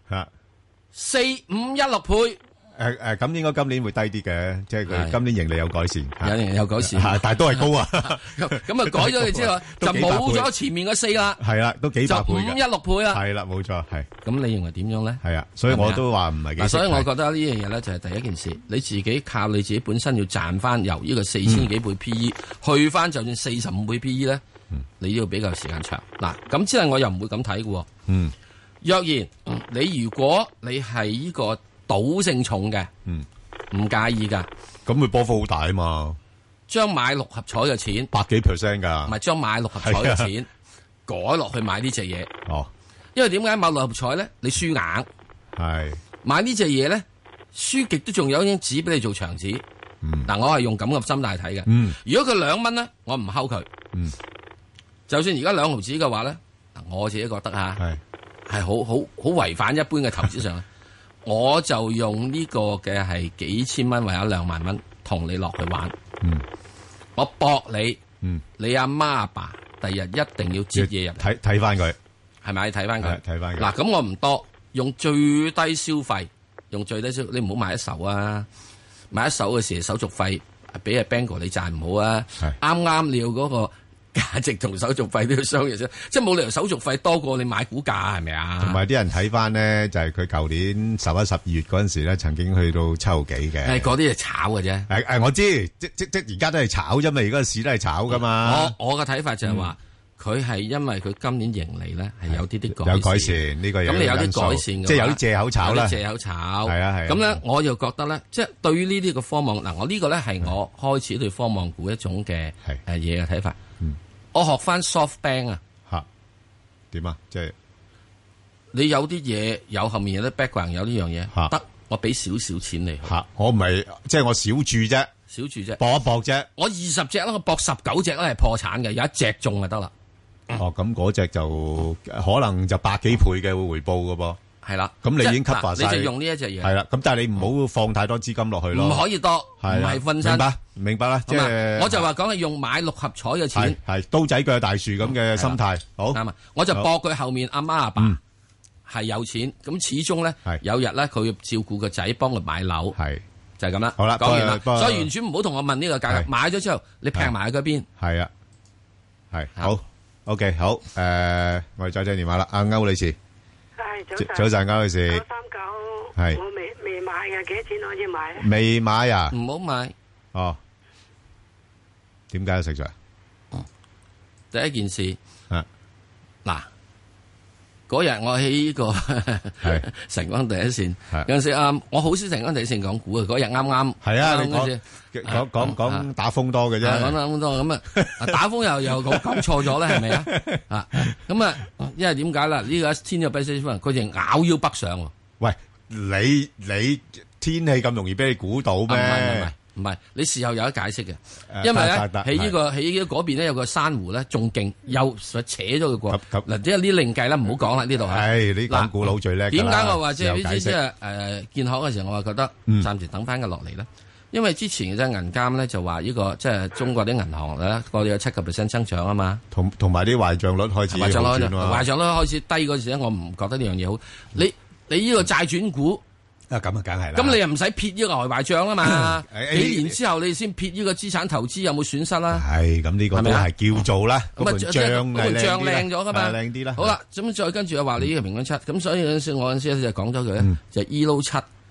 4516倍。 咁應該今年會低啲嘅，即係佢今年盈利有改善， 有改善， 但係都係高啊。 咁啊改咗你之後，就冇咗前面嗰4啦。 係啦，都幾百倍嘅， 就516倍啦。 係啦，冇錯，係。咁你認為點樣咧？ 係啊，所以我都話唔係幾。 所以我覺得呢樣嘢咧就係第一件事，你自己靠你自己本身要賺翻由呢個4000幾倍 P/E 去翻就算45倍 P/E 咧，你都要比較時間長。嗱，咁之後我又唔會咁睇嘅。若然你如果你係呢個賭性重嘅，唔介意噶， 咁佢波幅好大啊嘛！ 將買6合彩嘅錢 100幾%噶， 唔係將買6合彩嘅錢改落去買呢隻嘢。 哦， 因為點解買6合彩咧？你輸硬係買呢隻嘢咧，輸極都仲有一張紙俾你做牆紙。嗱，我係用咁嘅心態睇嘅。如果佢2蚊咧，我唔睺佢。就算而家2毫紙嘅話咧，我自己覺得係好違反一般嘅投資上。我就用呢個嘅係幾千蚊或者2萬蚊同你落去玩，我搏你，你阿媽阿爸第日一定要接嘢入嚟， 睇翻佢， 係咪？睇翻佢， 睇翻佢。 嗱，咁我唔多，用最低消費，你唔好買一手啊！買一手嘅時手續費俾阿 Bang 哥你賺唔好啊！啱啱你要嗰個價值同手續費都要相約啫，即係冇理由手續費多過你買股價係咪啊？同埋啲人睇翻呢，就係佢舊年11、12月嗰陣時咧，曾經去到7毫幾嘅。 係嗰啲係炒嘅啫。 我知，即而家都係炒啫嘛，而家個市都係炒噶嘛。 我嘅睇法就係話，佢係因為佢今年盈利咧係有啲有改善，呢個有咁你有啲改善， 即係有啲借口炒啦。 借口炒係啊。 咁咧，我就覺得咧，即係對於呢啲嘅科網嗱，我呢個咧係我開始對科網股一種嘅嘢嘅睇法。我學翻 SoftBank 啊， 吓點啊？即係你有啲嘢有後面有啲 background 有呢樣嘢，得我俾少少錢你吓，我唔係即係我少注啫，搏一搏啫。 我20隻啦，我搏19隻咧係破產嘅，有一隻中就得啦。 咁嗰隻就可能就100幾倍嘅回報噶噃。 係啦， 咁你已經 cover 晒， 你就用呢一隻嘢。 係啦，咁但係你唔好放太多資金落去咯。 唔可以多，唔係分身。 明白啦，即係我就話講係用買6合彩嘅錢， 係刀仔鋸大樹咁嘅心態。好啱啊！ 我就搏佢後面阿媽阿爸係有錢，咁始終咧有日咧佢要照顧個仔，幫佢買樓，係就係咁啦。 好啦， 講完啦，所以完全唔好同我問呢個價格。買咗之後，你劈埋喺嗰邊。 係啊，係好 OK 好。我哋再聽電話啦，阿歐女士。早晨，歐女士。 939 係我未買嘅，幾多錢可以買？ 未買啊？ 唔好買。 哦，點解要食咗？ 第一件事，嗱，嗰日我喺呢個晨光第一線，有陣時我好少晨光第一線講股嘅，嗰日啱啱係啊，你講打風多嘅啫， 講打風多咁啊，打風又講錯咗咧，係咪啊？咁啊，因為點解啦？呢個天有不測風雲，佢就咬腰北上。喂， 你天氣咁容易俾你估到咩？ 唔係，你事後有得解釋嘅，因為咧喺呢個喺嗰邊咧有個珊瑚咧仲勁，又扯咗佢過嗱，即係呢另計啦，唔好講啦呢度係你講股佬最叻。 點解我話即係呢啲建行嘅時候，我話覺得暫時等翻佢落嚟咧，因為之前嘅銀監咧就話呢個即係中國啲銀行咧，我哋有7% 增長啊嘛， 同埋啲壞賬率開始壞賬率開始低嗰時咧，我唔覺得呢樣嘢好。你呢個債轉股。 咁啊，梗係啦。 咁你又唔使撇呢個外壞賬啦嘛？幾年之後你先撇呢個資產投資有冇損失啦？ 係咁呢個都係叫做啦。 咁啊，賬靚咗噶嘛？ 靚啲啦。 好啦，咁再跟住又話你呢個平均7，咁所以嗰陣時我嗰陣時就講咗佢咧，就 ELO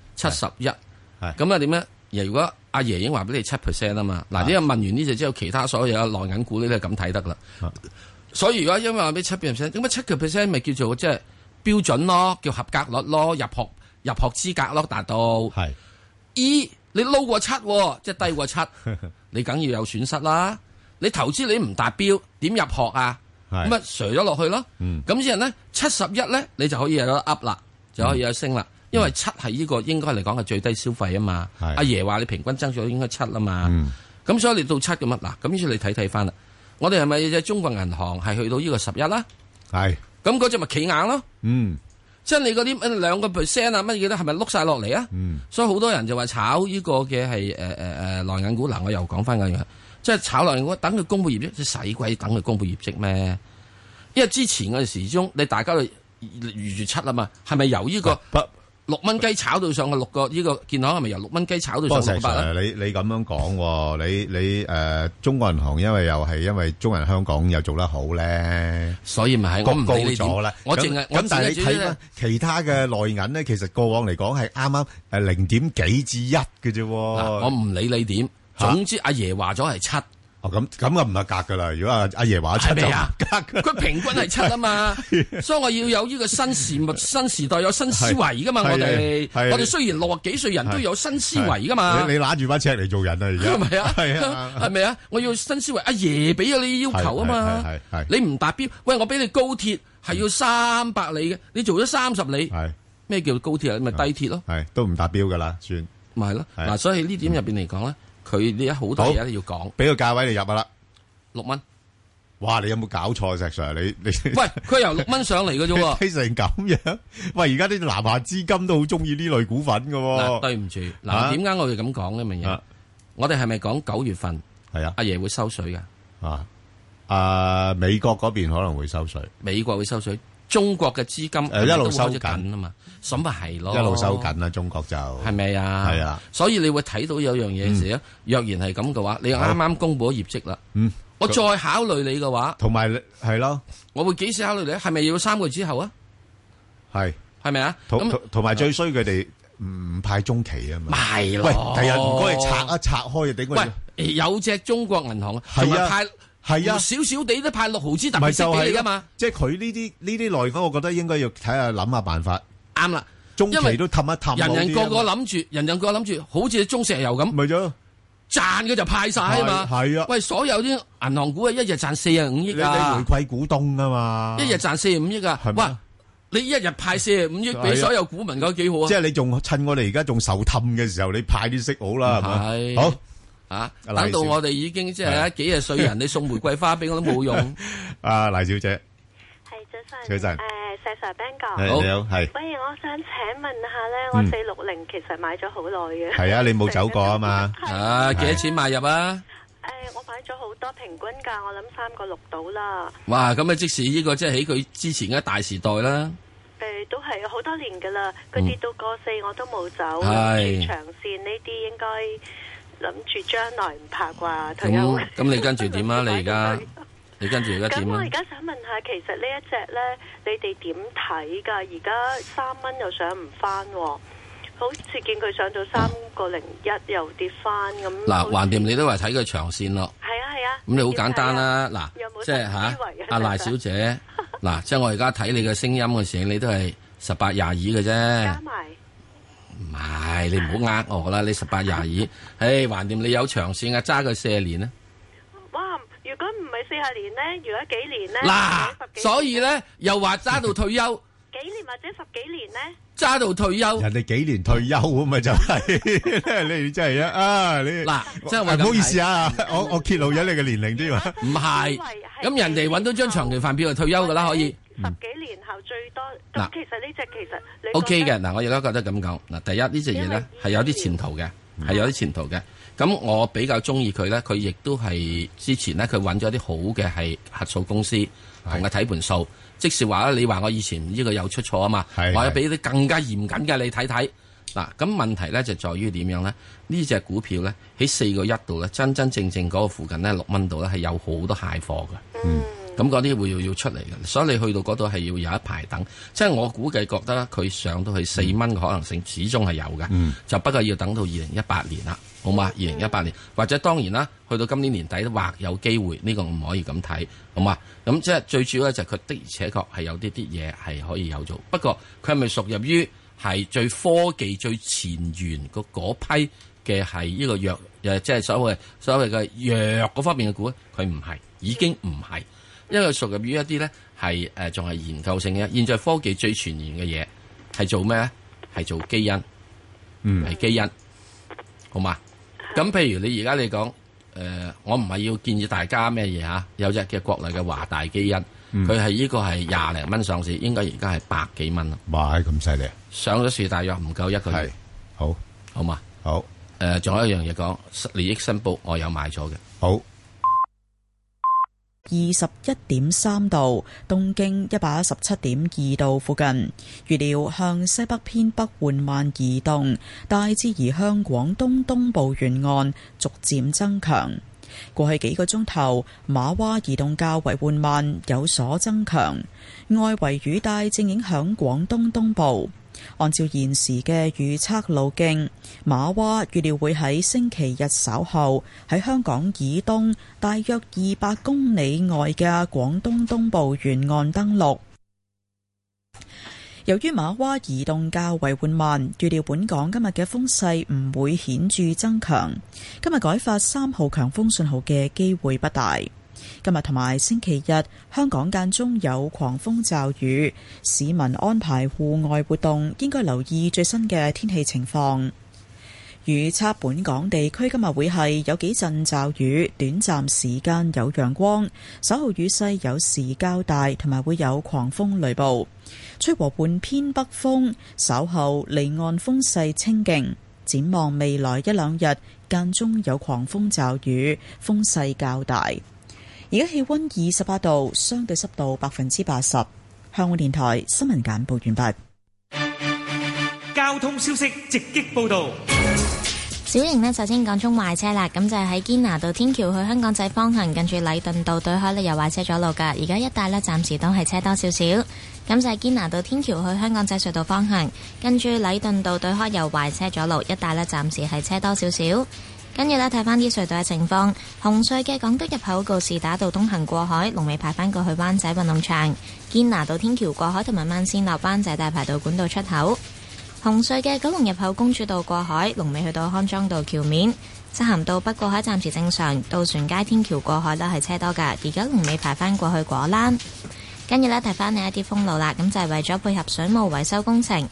71。咁啊點咧？如果阿爺已經話俾你7% 啊嘛，嗱呢個問完呢隻之後，其他所有內銀股呢都係咁睇得啦。所以如果因為話俾7%，咁啊7% 咪叫做即係標準咯，叫合格率咯，入學資格咯，達到係。你撈過7，即係低過7，你梗要有損失啦。你投資你唔達標，點入學啊？咁啊，瀡咗落去咯。咁之後咧，71咧，你就可以有得 up 啦，就可以有升啦。因為7係呢個應該嚟講係最低消費啊嘛。阿爺話你平均增長應該7啊嘛。咁所以你到7咁啊，嗱，咁於是你睇翻啦。我哋係咪隻中國銀行係去到呢個11啦？係。咁嗰隻咪企硬咯。即係你嗰啲2% 啊乜嘢咧，係咪碌晒落嚟啊？所以好多人就話炒呢個嘅係內銀股。嗱，我又講翻嗰樣，即係炒內銀股，等佢公布業績，即係使鬼等佢公布業績咩？因為之前嗰陣時鐘，你大家月7啊嘛，係咪由呢個6蚊雞炒到上去6個？呢個建行係咪由6蚊雞炒到上6個8咧？ 你咁樣講，你中國銀行因為中銀香港又做得好咧， 所以咪係我唔理你點，我淨係咁，但係你睇翻其他嘅內銀咧，其實過往嚟講係啱啱0點幾至1嘅啫。 我唔理你點，總之阿爺話咗係7。 咁啊唔係格噶啦，如果阿爺話7就格， 佢平均係7啊嘛，所以我要有呢個新時代有新思維噶嘛，我哋雖然60幾歲人都有新思維噶嘛。 你揦住把尺嚟做人啊，而家係咪啊？係咪啊？我要新思維，阿爺俾咗你要求啊嘛，你唔達標，喂，我俾你高鐵係要300里嘅，你做咗30里，咩叫高鐵啊？咪低鐵咯， 都唔達標噶啦，算咪係咯。嗱，所以呢點入邊嚟講咧。佢呢好多嘢都要講， 俾個價位你入啊啦 ，6蚊。 哇！你有冇搞錯石 Sir？你喂，佢由6蚊上嚟嘅啫喎， 睇成咁樣。喂，而家啲南下資金都好中意呢類股份嘅喎。 嗱，對唔住，嗱，點解我哋咁講呢？明嘢，我哋係咪講9月份？ 係啊， 阿爺會收水㗎。 美國嗰邊可能會收水， 美國會收水。中國嘅資金一路收緊啊嘛，咁咪係咯， 一路收緊啦，中國就係咪啊？ 係啊， 所以你會睇到有樣嘢時咧，若然係咁嘅話，你啱啱公布咗業績啦，我再考慮你嘅話， 同埋係咯， 我會幾時考慮你？係咪要3個月之後啊？係咪啊？ 同埋最衰佢哋唔派中期啊嘛， 係咯。 喂，第日唔該你拆開就頂佢。 喂，有隻中國銀行係啊派。係啊，少少地都派6毫子特別息俾你噶嘛， 即係佢呢啲內房，我覺得應該要睇下諗下辦法。 啱啦， 中期都氹一氹。 人個個諗住，好似中石油咁， 咪咗賺嘅就派晒啊嘛。 係啊， 喂，所有啲銀行股啊，一日賺45億啊， 你回饋股東啊嘛， 一日賺45億啊，哇！你一日派45億俾所有股民，覺得幾好啊？ 即係你仲趁我哋而家仲受氹嘅時候，你派啲息好啦，係咪？好。 等到我哋已經即係幾廿歲人，你送玫瑰花俾我都冇用。 阿黎小姐， 係早晨，石 Sir Ben 哥， 你好，係。 喂，我想請問下咧，我460其實買咗好耐嘅。 係啊，你冇走過啊嘛。 幾多錢買入啊？ 我買咗好多，平均價我諗3個6到啦。 哇，咁啊，即使呢個即係喺佢之前嘅大時代啦。 都係好多年噶啦，佢跌到過4我都冇走。 係長線呢啲應該。諗住將來唔怕啩退休。 咁你跟住點啊？你跟住而家點啊？ 咁我而家想問下，其實呢一隻咧，你哋點睇㗎？而家3蚊又上唔翻，好似見佢上到3個01又跌翻咁。 嗱，橫掂你都話睇佢長線咯。 係啊。 咁你好簡單啦，嗱，即係阿賴小姐，嗱，即係我而家睇你嘅聲音嘅時候，你都係18、22嘅啫。 加埋。 唔係，你唔好呃我啦！你18、22，橫掂你有長線啊，揸佢40年咧。 哇！如果唔係40年咧，如果幾年咧？ 嗱，所以咧又話揸到退休。 幾年或者10幾年咧？ 揸到退休。 人哋幾年退休咁咪就係，你真係啊！你嗱，即係話唔好意思啊，我揭露咗你嘅年齡添啊。 唔係，咁人哋揾到張長期飯票就退休噶啦，可以。 10幾年後最多咁，其實呢隻其實你 OK 嘅。嗱，我而家覺得咁講，嗱，第一呢隻嘢咧係有啲前途嘅，係有啲前途嘅。咁我比較中意佢咧，佢亦都係之前咧佢揾咗啲好嘅係核數公司同佢睇盤數，即是話咧，你話我以前呢個有出錯啊嘛，我要俾啲更加嚴謹嘅你睇睇。嗱，咁問題咧就在於點樣咧？呢隻股票咧喺4個1度咧，真真正正嗰個附近咧6蚊度咧係有好多蟹貨嘅。咁嗰啲會要出嚟嘅，所以你去到嗰度係要有一排等。即係我估計覺得佢上到去4蚊嘅可能性始終係有嘅，就不過要等到2018年啦，好嘛？2018年或者當然啦，去到今年年底都或有機會，呢個唔可以咁睇，好嘛？咁即係最主要咧就係佢的而且確係有啲嘢係可以有做，不過佢係咪屬入於係最科技最前沿嗰批嘅係呢個藥，即係所謂嘅藥嗰方面嘅股咧？佢唔係，已經唔係。因為屬入於一啲咧係仲係研究性嘅，現在科技最前沿嘅嘢係做咩咧？係做基因，係基因，好嘛？咁譬如你而家你講我唔係要建議大家咩嘢嚇，有隻嘅國內嘅華大基因，佢係呢個係20零蚊上市，應該而家係100幾蚊啦。 哇！咁犀利， 上咗市大約唔夠1個月，好嘛？ 好仲有一樣嘢講，利益申報我有買咗嘅， 好。 121.3度，東經117.2度附近。預料向西北偏北緩慢移動，大致移向廣東東部沿岸，逐漸增強。過去幾個鐘頭，瑪娃移動較為緩慢，有所增強。外圍雨帶正影響廣東東部。按照現時嘅預測路徑，瑪娃預料會喺星期日稍後喺香港以東大約200公里外嘅廣東東部沿岸登陸。由於瑪娃移動較為緩慢，預料本港今日嘅風勢唔會顯著增強。今日改發3號強風信號嘅機會不大。今日同埋星期日，香港間中有狂風驟雨，市民安排戶外活動應該留意最新嘅天氣情況。預測本港地區今日會係有幾陣驟雨，短暫時間有陽光，稍後雨勢有時較大，同埋會有狂風雷暴，吹和緩偏北風，稍後離岸風勢清勁。展望未來一兩日，間中有狂風驟雨，風勢較大。而家氣溫28度，相對濕度80%。香港電台新聞簡報完畢。 交通消息直擊報道。 小瑩呢，首先講中壞車啦，咁就係喺堅拿道天橋去香港仔方向，近住禮頓道對開呢有壞車阻路噶，而家一帶呢，暫時都係車多少少。咁就係堅拿道天橋去香港仔隧道方向，近住禮頓道對開有壞車阻路，一帶呢，暫時係車多少少。跟住呢，睇翻啲隧道嘅情況，紅隧嘅港島入口告士打道東行過海，龍尾排翻過去灣仔運動場；堅拿道天橋過海同埋慢線落灣仔大排道管道出口。紅隧嘅九龍入口公主道過海，龍尾去到康莊道橋面；漆咸道北過海暫時正常，渡船街天橋過海呢係車多㗎，而家龍尾排翻過去果欄。跟住呢，睇翻你一啲封路啦，咁就係為咗配合水務維修工程。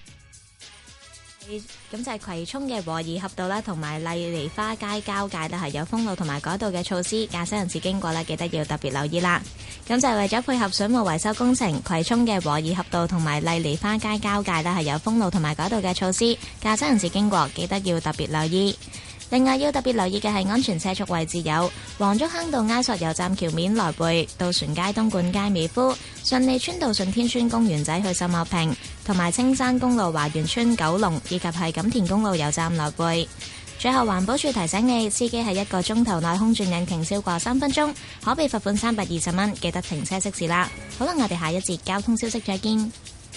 咁就係葵涌嘅和宜合道啦，同埋麗梨花街交界呢係有封路同埋改道嘅措施，駕駛人士經過呢記得要特別留意啦。咁就係為咗配合水務維修工程，葵涌嘅和宜合道同埋麗梨花街交界呢係有封路同埋改道嘅措施，駕駛人士經過記得要特別留意。另外要特別留意嘅係安全車速位置有黃竹坑道埃索油站橋面來回、渡船街東莞街美孚、順利村道順天村公園仔去秀茂坪，同埋青山公路華園村九龍，以及係錦田公路油站來回。最後環保署提醒你，司機喺1個鐘頭內空轉引擎超過3分鐘，可被罰款320蚊，記得停車熄匙啦。好啦，我哋下一節交通消息再見。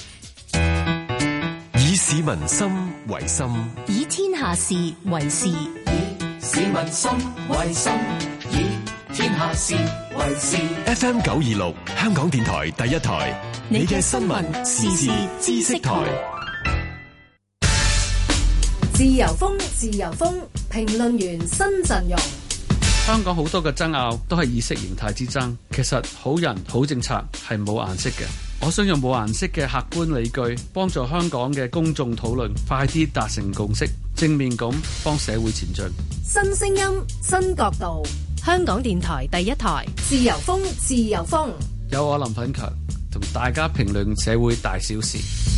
以市民心為心， 以天下事為事。 以市民心為心，以天下事為事。 FM 926香港電台第一台，你嘅新聞時事知識台。 自由風，自由風，評論員新陣容。 香港好多嘅爭拗都係意識形態之爭，其實好人好政策係冇顏色嘅。我想用冇顏色嘅客觀理據，幫助香港嘅公眾討論快啲達成共識，正面咁幫社會前進。 新聲音，新角度， 香港電台第一台， 自由風，自由風。 有我林奮強同大家評論社會大小事。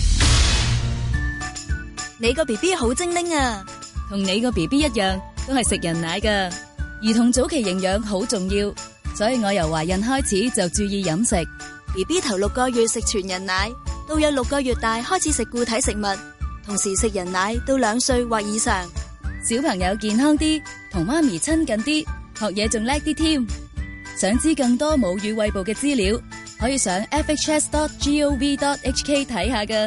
你個 BB 好精靈啊，同你個 BB 一樣，都係食人奶㗎。兒童早期營養好重要，所以我由懷孕開始就注意飲食。BB 頭6個月食全人奶，到有6個月大開始食固體食物，同時食人奶到2歲或以上。小朋友健康啲，同媽咪親近啲，學嘢仲叻啲添。想知更多母乳餵哺嘅資料，可以上 fhs.gov.hk 睇下㗎。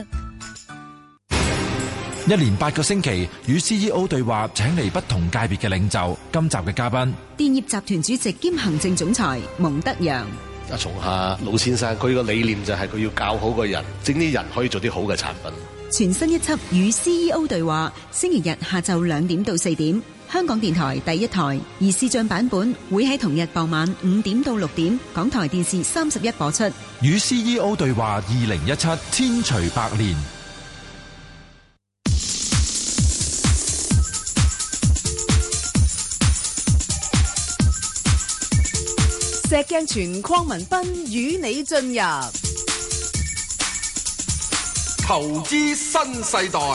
一連8個星期與 CEO 對話，請嚟不同界別嘅領袖。今集嘅嘉賓， 電業集團主席兼行政總裁蒙德揚。 松下老先生佢個理念就係佢要教好個人，整啲人可以做啲好嘅產品。 全新一輯與 CEO 對話，星期日下晝2點到4點，香港電台第一台，而視像版本會喺同日傍晚5點到6點，港台電視31播出。 與 CEO 對話2017，千錘百煉。 石鏡泉鄺民彬與你進入投資新世代。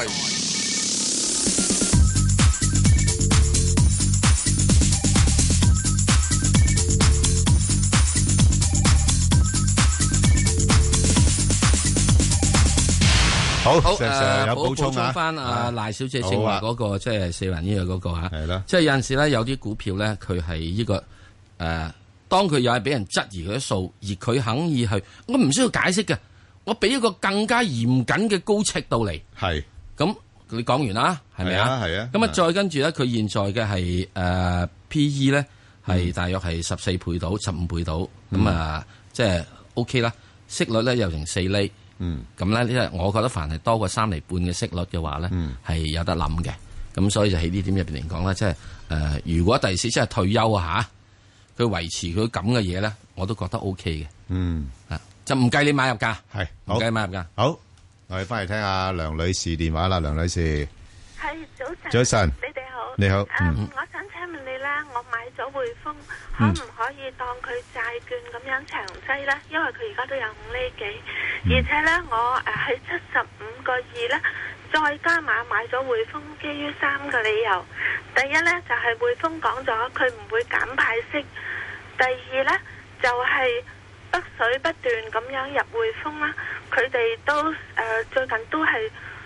好， 好有補充啊。 翻阿賴小姐正話嗰個即係四環醫藥嗰個嚇， 係啦。 即係有陣時咧，有啲股票咧，佢係呢個當佢又係俾人質疑佢啲數，而佢肯意去，我唔需要解釋嘅，我俾一個更加嚴謹嘅高尺度嚟。 係。咁你講完啦，係咪啊？ 係啊。 咁啊，再跟住咧，佢現在嘅係P/E 咧係大約係14倍到15倍到，咁啊即係 OK 啦。息率咧又成4厘。咁咧，因為我覺得凡係多過3厘半嘅息率嘅話咧，係有得諗嘅。咁所以就喺呢點入邊嚟講咧，即係如果第時即係退休啊嚇，佢維持佢咁嘅嘢咧，我都覺得 O K 嘅。就唔計你買入價， 係唔計買入價。 好，我哋翻嚟聽下梁女士電話啦，梁女士。 係早晨。 早晨。 你哋好。 你好。 我想請問你咧，我買咗匯豐，可唔可以當佢債券咁樣長擠咧？因為佢而家都有5厘幾，而且咧我喺75個2咧，再加碼買咗匯豐，基於3個理由。第一咧就係匯豐講咗佢唔會減派息，第二咧就係北水不斷咁樣入匯豐啦，佢哋都最近都係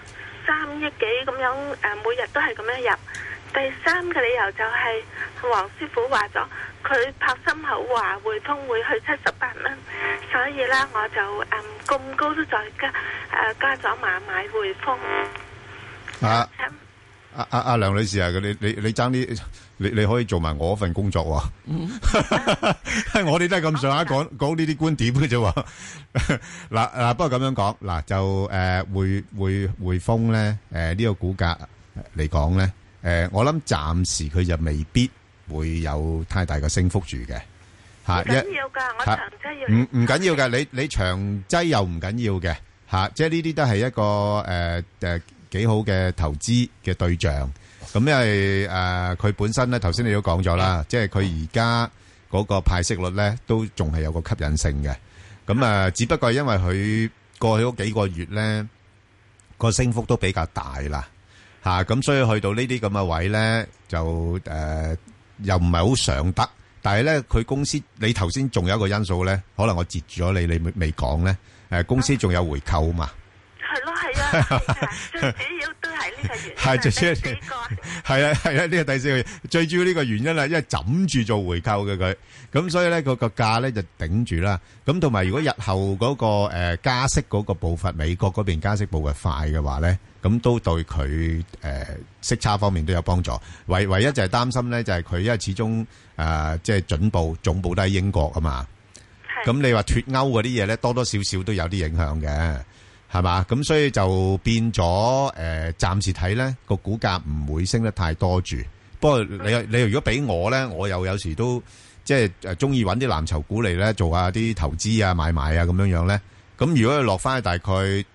3億幾咁樣每日都係咁樣入。第三個理由就係黃師傅話咗，佢拍心口話匯豐會去78蚊，所以咧我就咁高都再加咗碼買匯豐。 阿梁女士啊，你爭啲，你可以做埋我份工作喎。我哋都係咁上下講呢啲觀點嘅啫。嗱，不過咁樣講，嗱就匯豐咧，呢個股價嚟講咧。我諗暫時佢就未必會有太大嘅升幅住嘅，吓，唔緊要噶，我長擠要唔緊要嘅，你長擠又唔緊要嘅，吓，即係呢啲都係一個幾好嘅投資嘅對象。咁因為佢本身咧，頭先你都講咗啦，即係佢而家嗰個派息率咧都仲係有個吸引性嘅。咁只不過因為佢過去嗰幾個月咧個升幅都比較大啦。咁所以去到呢啲咁嘅位咧，就又唔係好上得。但係咧，佢公司你頭先仲有一個因素咧，可能我截住咗你未講咧。公司仲有回購嘛？ 係咯，係啊，最主要都係呢個原因。 係最主要係啊，呢個第四個最主要呢個原因啦，因為枕住做回購嘅佢，咁所以咧個價咧就頂住啦。咁同埋如果日後嗰個加息嗰個步伐，美國嗰邊加息步伐快嘅話咧。咁都對佢息差方面都有幫助。唯一就係擔心咧，就係佢因為始終即係總部都喺英國啊嘛。咁你話脫歐嗰啲嘢咧，多多少少都有啲影響嘅，係嘛？咁所以就變咗暫時睇咧個股價唔會升得太多住。不過你如果俾我咧，我又有時都即係中意揾啲藍籌股嚟咧做下啲投資啊、買賣啊咁樣樣咧。咁如果佢落翻去大概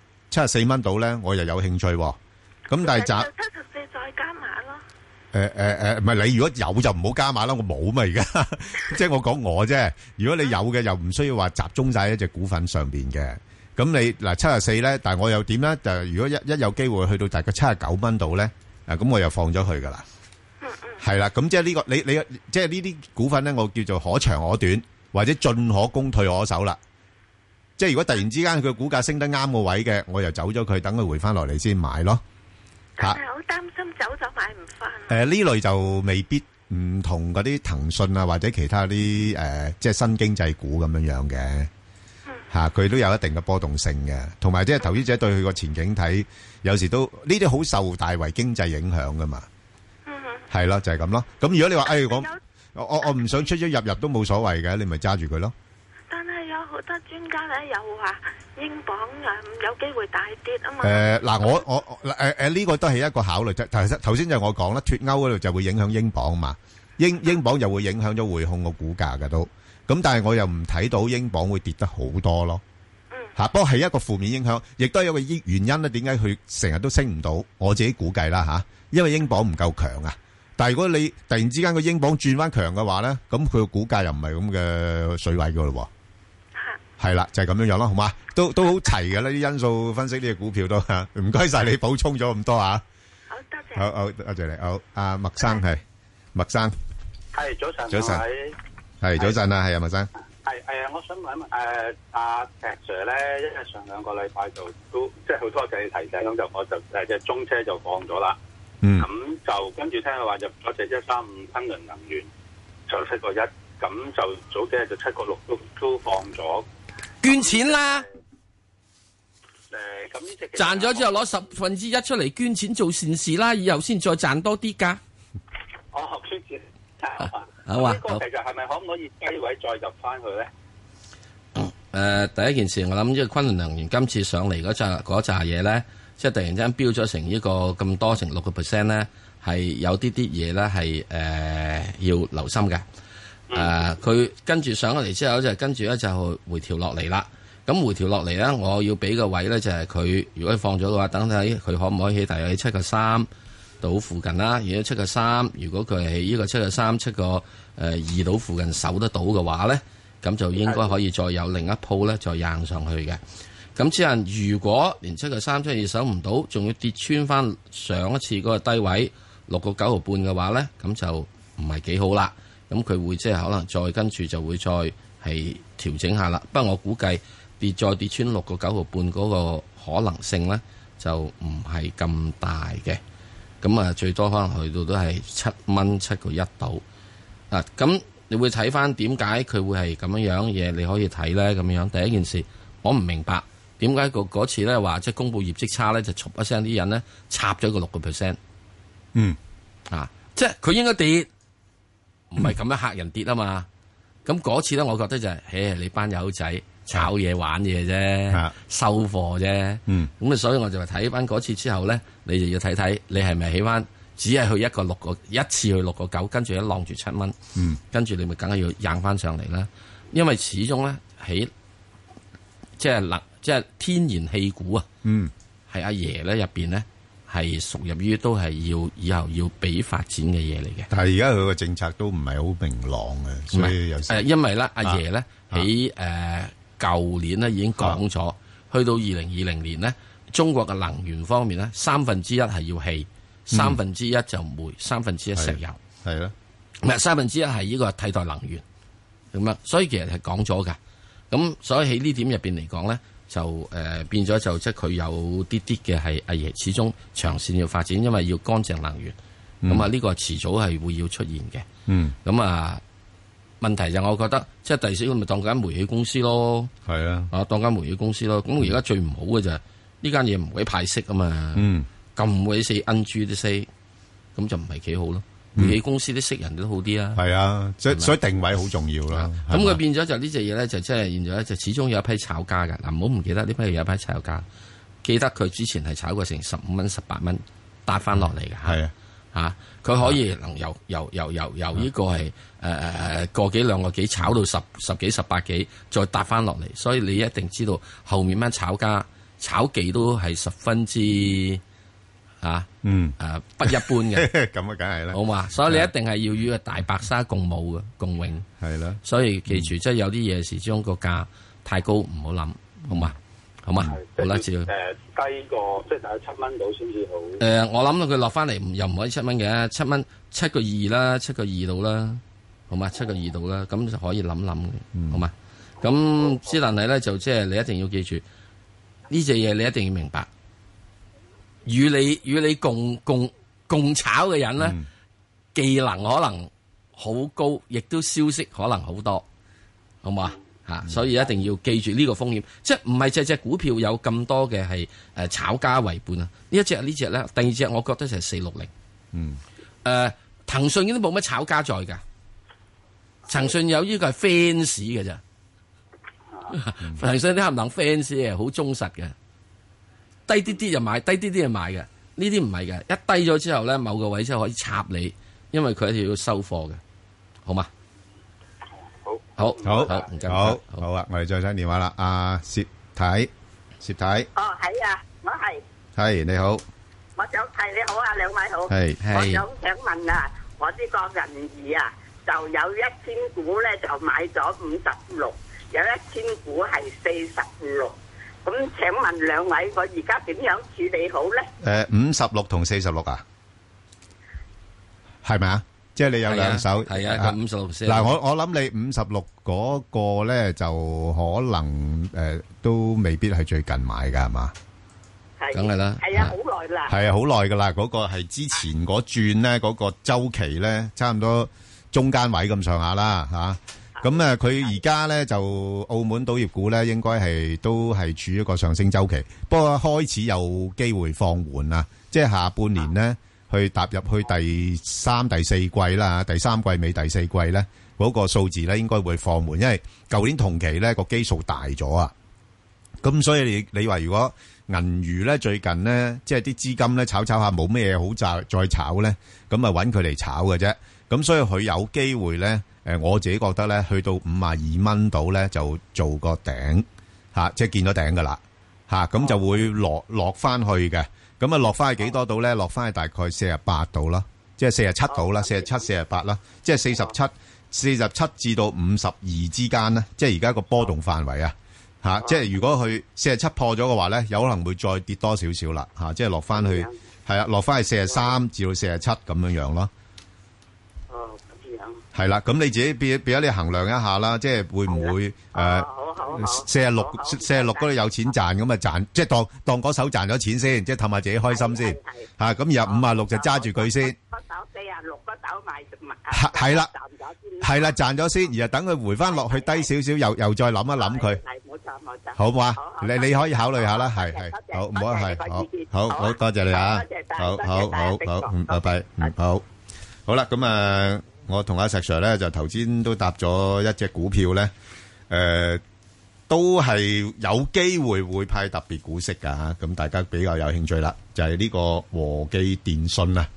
74蚊到咧，我又有興趣喎。咁但係74 再加碼咯。 唔係你如果有就唔好加碼啦，我冇嘛而家。即係我講我啫。如果你有嘅又唔需要話集中晒一隻股份上邊嘅。咁你嗱74咧，但係我又點咧？就如果一有機會去到大概79蚊度咧，咁我又放咗佢噶啦。係啦，咁即係呢個你即係呢啲股份咧，我叫做可長可短，或者進可攻退可守啦。即係如果突然之間佢股價升得啱個位嘅，我又走咗佢，等佢回翻落嚟先買咯。 但係好擔心走咗買唔翻。 呢類就未必唔同嗰啲騰訊啊，或者其他啲即係新經濟股咁樣樣嘅嚇，佢都有一定嘅波動性嘅。同埋即係投資者對佢個前景睇，有時都呢啲好受大圍經濟影響噶嘛。係咯，就係咁咯。咁如果你話我唔想出咗入都冇所謂嘅，你咪揸住佢咯。 但係有好多專家咧又話英鎊有機會大跌啊嘛。 嗱，我呢個都係一個考慮啫。頭先就我講啦，脫歐嗰度就會影響英鎊嘛，英鎊又會影響咗匯控個股價嘅都。咁但係我又唔睇到英鎊會跌得好多咯。不過係一個負面影響，亦都有個原因咧。點解佢成日都升唔到？我自己估計啦嚇，因為英鎊唔夠強啊。但係如果你突然之間個英鎊轉翻強嘅話咧，咁佢個股價又唔係咁嘅水位噶咯。係啦，就係咁樣樣咯，好嘛？都好齊嘅呢啲因素分析呢個股票都吓。唔該晒你補充咗咁多啊！ 好多謝。 好，多謝你。好，阿麥生係麥生。 係早晨。 早晨。係早晨啊，係啊，麥生。 係我想問一問阿石 Sir 咧，因為上2個禮拜就都即係好多謝你提醒，咁就我就隻中車就放咗啦。咁就跟住聽佢話入咗隻135昆侖能源就7.1，咁就早幾日就7.6都放咗。 捐錢啦！ 咁呢隻賺咗之後攞1/10出嚟捐錢做善事啦，以後先再賺多啲㗎。 捐錢。 好啊！ 呢個其實係咪可唔可以低位再入翻去咧？ 第一件事我諗，呢個昆侖能源今次上嚟嗰扎嘢咧，即係突然間飆咗成呢個咁多成6%咧，係有啲嘢咧係要留心嘅。佢跟住上嚟之後就跟住咧就回調落嚟啦。咁回調落嚟咧，我要俾個位咧就係佢如果放咗嘅話，等睇佢可唔可以喺大約7.3到附近啦。如果7.3，如果佢係呢個7.3、7.2到附近守得到嘅話咧，咁就應該可以再有另一鋪咧再硬上去嘅。咁之後如果連7.3、7.2守唔到，仲要跌穿翻上一次嗰個低位6.9毫半嘅話咧，咁就唔係幾好啦。咁佢會即係可能再跟住就會再係調整下啦。不過我估計再跌穿6.9毫半嗰個可能性咧，就唔係咁大嘅。咁啊，最多可能去到都係7.1度。咁你會睇翻點解佢會係咁樣嘢？你可以睇咧咁樣。第一件事，我唔明白點解嗰次咧話即係公佈業績差咧，就唰一聲啲人咧插咗個6%。即係佢應該跌，唔係咁樣嚇人跌啊嘛。咁嗰次咧，我覺得就係，你班友仔炒嘢玩嘢啫，收貨啫。咁所以我就話睇翻嗰次之後咧，你就要睇睇你係咪起翻，只係去一次去6.9，跟住一浪住7蚊，跟住你咪梗係要硬翻上嚟啦。因為始終咧喺即係天然氣股啊，係阿爺咧入邊咧係屬入於都係要以後要俾發展嘅嘢嚟嘅。 但係而家佢個政策都唔係好明朗嘅，所以有時因為咧阿爺咧喺舊年咧已經講咗，去到2020年咧，中國嘅能源方面咧1/3係要氣，1/3就煤，1/3石油， 係啦， 唔係1/3係呢個替代能源咁啊。所以其實係講咗㗎。咁所以喺呢點入邊嚟講咧，就變咗就即係佢有啲嘅係阿爺始終長線要發展，因為要乾淨能源。咁呢個遲早係會要出現嘅。咁問題就我覺得即係第時咪當間煤氣公司咯。 係啊， 當間煤氣公司咯。咁而家最唔好嘅就係呢間嘢唔會派息啊嘛。咁鬼死 NG 啲息，咁就唔係幾好咯。煤氣公司啲息人都好啲啊。 係啊，所以定位好重要啦。 咁佢變咗就呢隻嘢咧，就即係現在咧就始終有一批炒家嘅。嗱，唔好唔記得呢批有一批炒家，記得佢之前係炒過成15蚊、18蚊，搭翻落嚟嘅。 係啊， 佢可以能由呢個係個幾兩個幾炒到十幾18幾，再搭翻落嚟。所以你一定知道後面班炒家炒技都係十分之不一般嘅。 咁啊，梗係啦。 好嘛，所以你一定係要與個大白鯊共舞嘅共榮。 係啦。 所以記住，即係有啲嘢時將個價太高唔好諗，好嘛？好嘛？好啦，照。 低過即係大概7蚊到先至好。 我諗到佢落翻嚟又唔可以7蚊嘅，7蚊7.2啦，7.2度啦，好嘛？7.2度啦，咁就可以諗諗嘅，好嘛？咁之但係咧就即係你一定要記住呢隻嘢，你一定要明白，與你共炒嘅人咧，技能可能好高，亦都消息可能好多，好嘛？所以一定要記住呢個風險，即係唔係隻股票有咁多嘅係炒家為伴啊？呢隻咧，第二隻我覺得就係460。騰訊已經冇乜炒家在㗎，騰訊有呢個係 fans 嘅咋。騰訊啲冚唪唥 fans 嘅，好忠實嘅，低啲啲就買，低啲啲就買嘅。呢啲唔係嘅，一低咗之後咧，某個位之後可以插你，因為佢一定要收貨嘅，好嘛？好啊， 我哋再聽電話啦，阿薛太。 係啊，我係你好， 我想係你好啊，兩位好，我想問啊，我呢個銀娛啊，就有1000股咧，就買咗56，有1000股係46，咁請問兩位，我而家點樣處理好咧？ 56同46啊，係咪啊？ 即係你有兩手。 係啊，佢56先。 嗱，我諗你56嗰個咧，就可能都未必係最近買㗎，係嘛？ 梗係啦。 係啊，好耐啦。 係啊，好耐㗎啦。嗰個係之前嗰轉咧，嗰個周期咧，差唔多中間位咁上下啦，嚇。咁佢而家咧就澳門賭業股咧，應該都係處於一個上升周期，不過開始有機會放緩啦。即係下半年咧，去踏入去第三、第四季啦，第三季尾、第四季咧，嗰個數字咧應該會放緩，因為舊年同期咧個基數大咗啊。咁所以你話如果銀娛咧最近咧，即係啲資金咧炒下冇咩嘢好再炒咧，咁啊揾佢嚟炒嘅啫。咁所以佢有機會咧。我自己覺得咧，去到52蚊度咧，就做個頂嚇，即係見咗頂噶啦嚇，咁就會落翻去嘅。咁啊，落翻去幾多度咧？落翻去大概48度啦，即係47度啦，47、48啦，即係47至到52之間咧，即係而家個波動範圍啊嚇。即係如果佢47破咗嘅話咧，有可能會再跌多少少啦嚇，即係落翻去係啊，落翻去43至到47咁樣咯。係啦，咁你自己變咗你衡量一下啦，即係會唔會46嗰度有錢賺咁啊賺，即係當嗰手賺咗錢先，即係氹下自己開心先嚇。咁然後56就揸住佢先。嗰手46嗰手賣係啦，係啦賺咗先，然後等佢回翻落去低少少，又再諗一諗佢。係冇錯，好唔好啊？你可以考慮下啦，係好唔好啊？係好多謝你啊！好，拜拜，好啦，咁我同阿石 Sir 咧就頭先都搭咗一隻股票咧，都係有機會會派特別股息噶吓，咁大家比較有興趣啦，就係呢個和記電訊啊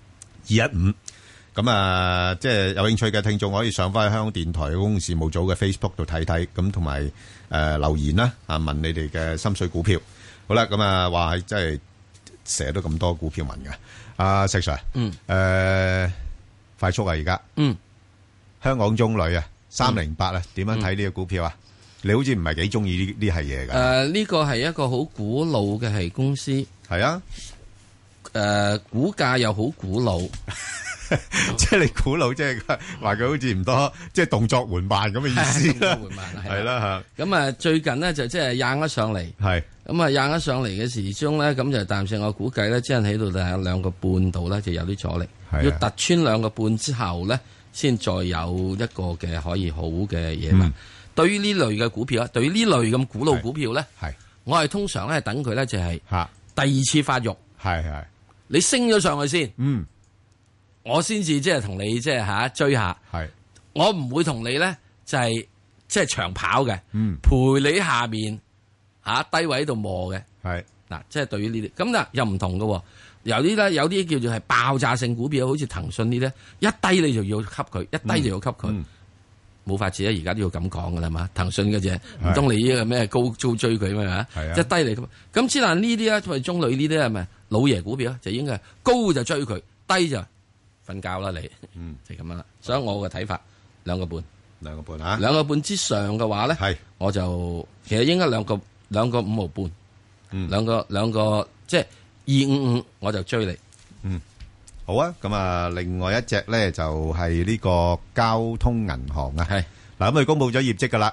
，215，咁即係有興趣嘅聽眾可以上翻去香港電台公共事務組嘅 Facebook 度睇睇，咁同埋留言啦，問你哋嘅心水股票。好啦，咁話係真係成日都咁多股票問嘅，阿石 Sir，快速啊！而家，香港中旅啊，308啊，點樣睇呢個股票啊？你好似唔係幾中意呢係嘢噶？ 呢個係一個好古老嘅係公司， 係啊， 股價又好古老， 即係你古老，即係話佢好似唔多，即係動作緩慢咁嘅意思啦，係啦吓。咁最近呢，就即係硬咗上嚟， 係咁硬咗上嚟嘅時鐘咧，咁就暫時我估計咧，即係喺度就係2個半度咧，就有啲阻力。要突穿2個半之後咧，先再有一個嘅可以好嘅嘢嘛。對於呢類嘅股票啊，對於呢類咁古老股票咧，我係通常咧等佢咧就係第二次發育， 係你升咗上去先，我先至即係同你即係追下，我唔會同你咧就係即係長跑嘅，陪你下面低位度磨嘅，嗱，即係對於呢啲咁嗱又唔同嘅。有啲咧，有啲叫做係爆炸性股票，好似騰訊呢啲，一低你就要吸佢，一低就要吸佢，冇法子啊！而家都要咁講噶啦嘛，騰訊嘅啫，唔通你呢個咩高追佢咩嚇？一低嚟咁之但呢啲咧，因為中旅呢啲係咪老爺股票就應該係高就追佢，低就瞓覺啦你，就咁樣啦。所以我嘅睇法2個半 ，2個半嚇 ，2個半之上嘅話咧，我就其實應該2個5毫半，兩個即係。255我就追你， 好啊。咁另外一隻咧就係呢個交通銀行啊，係嗱咁佢公布咗業績噶啦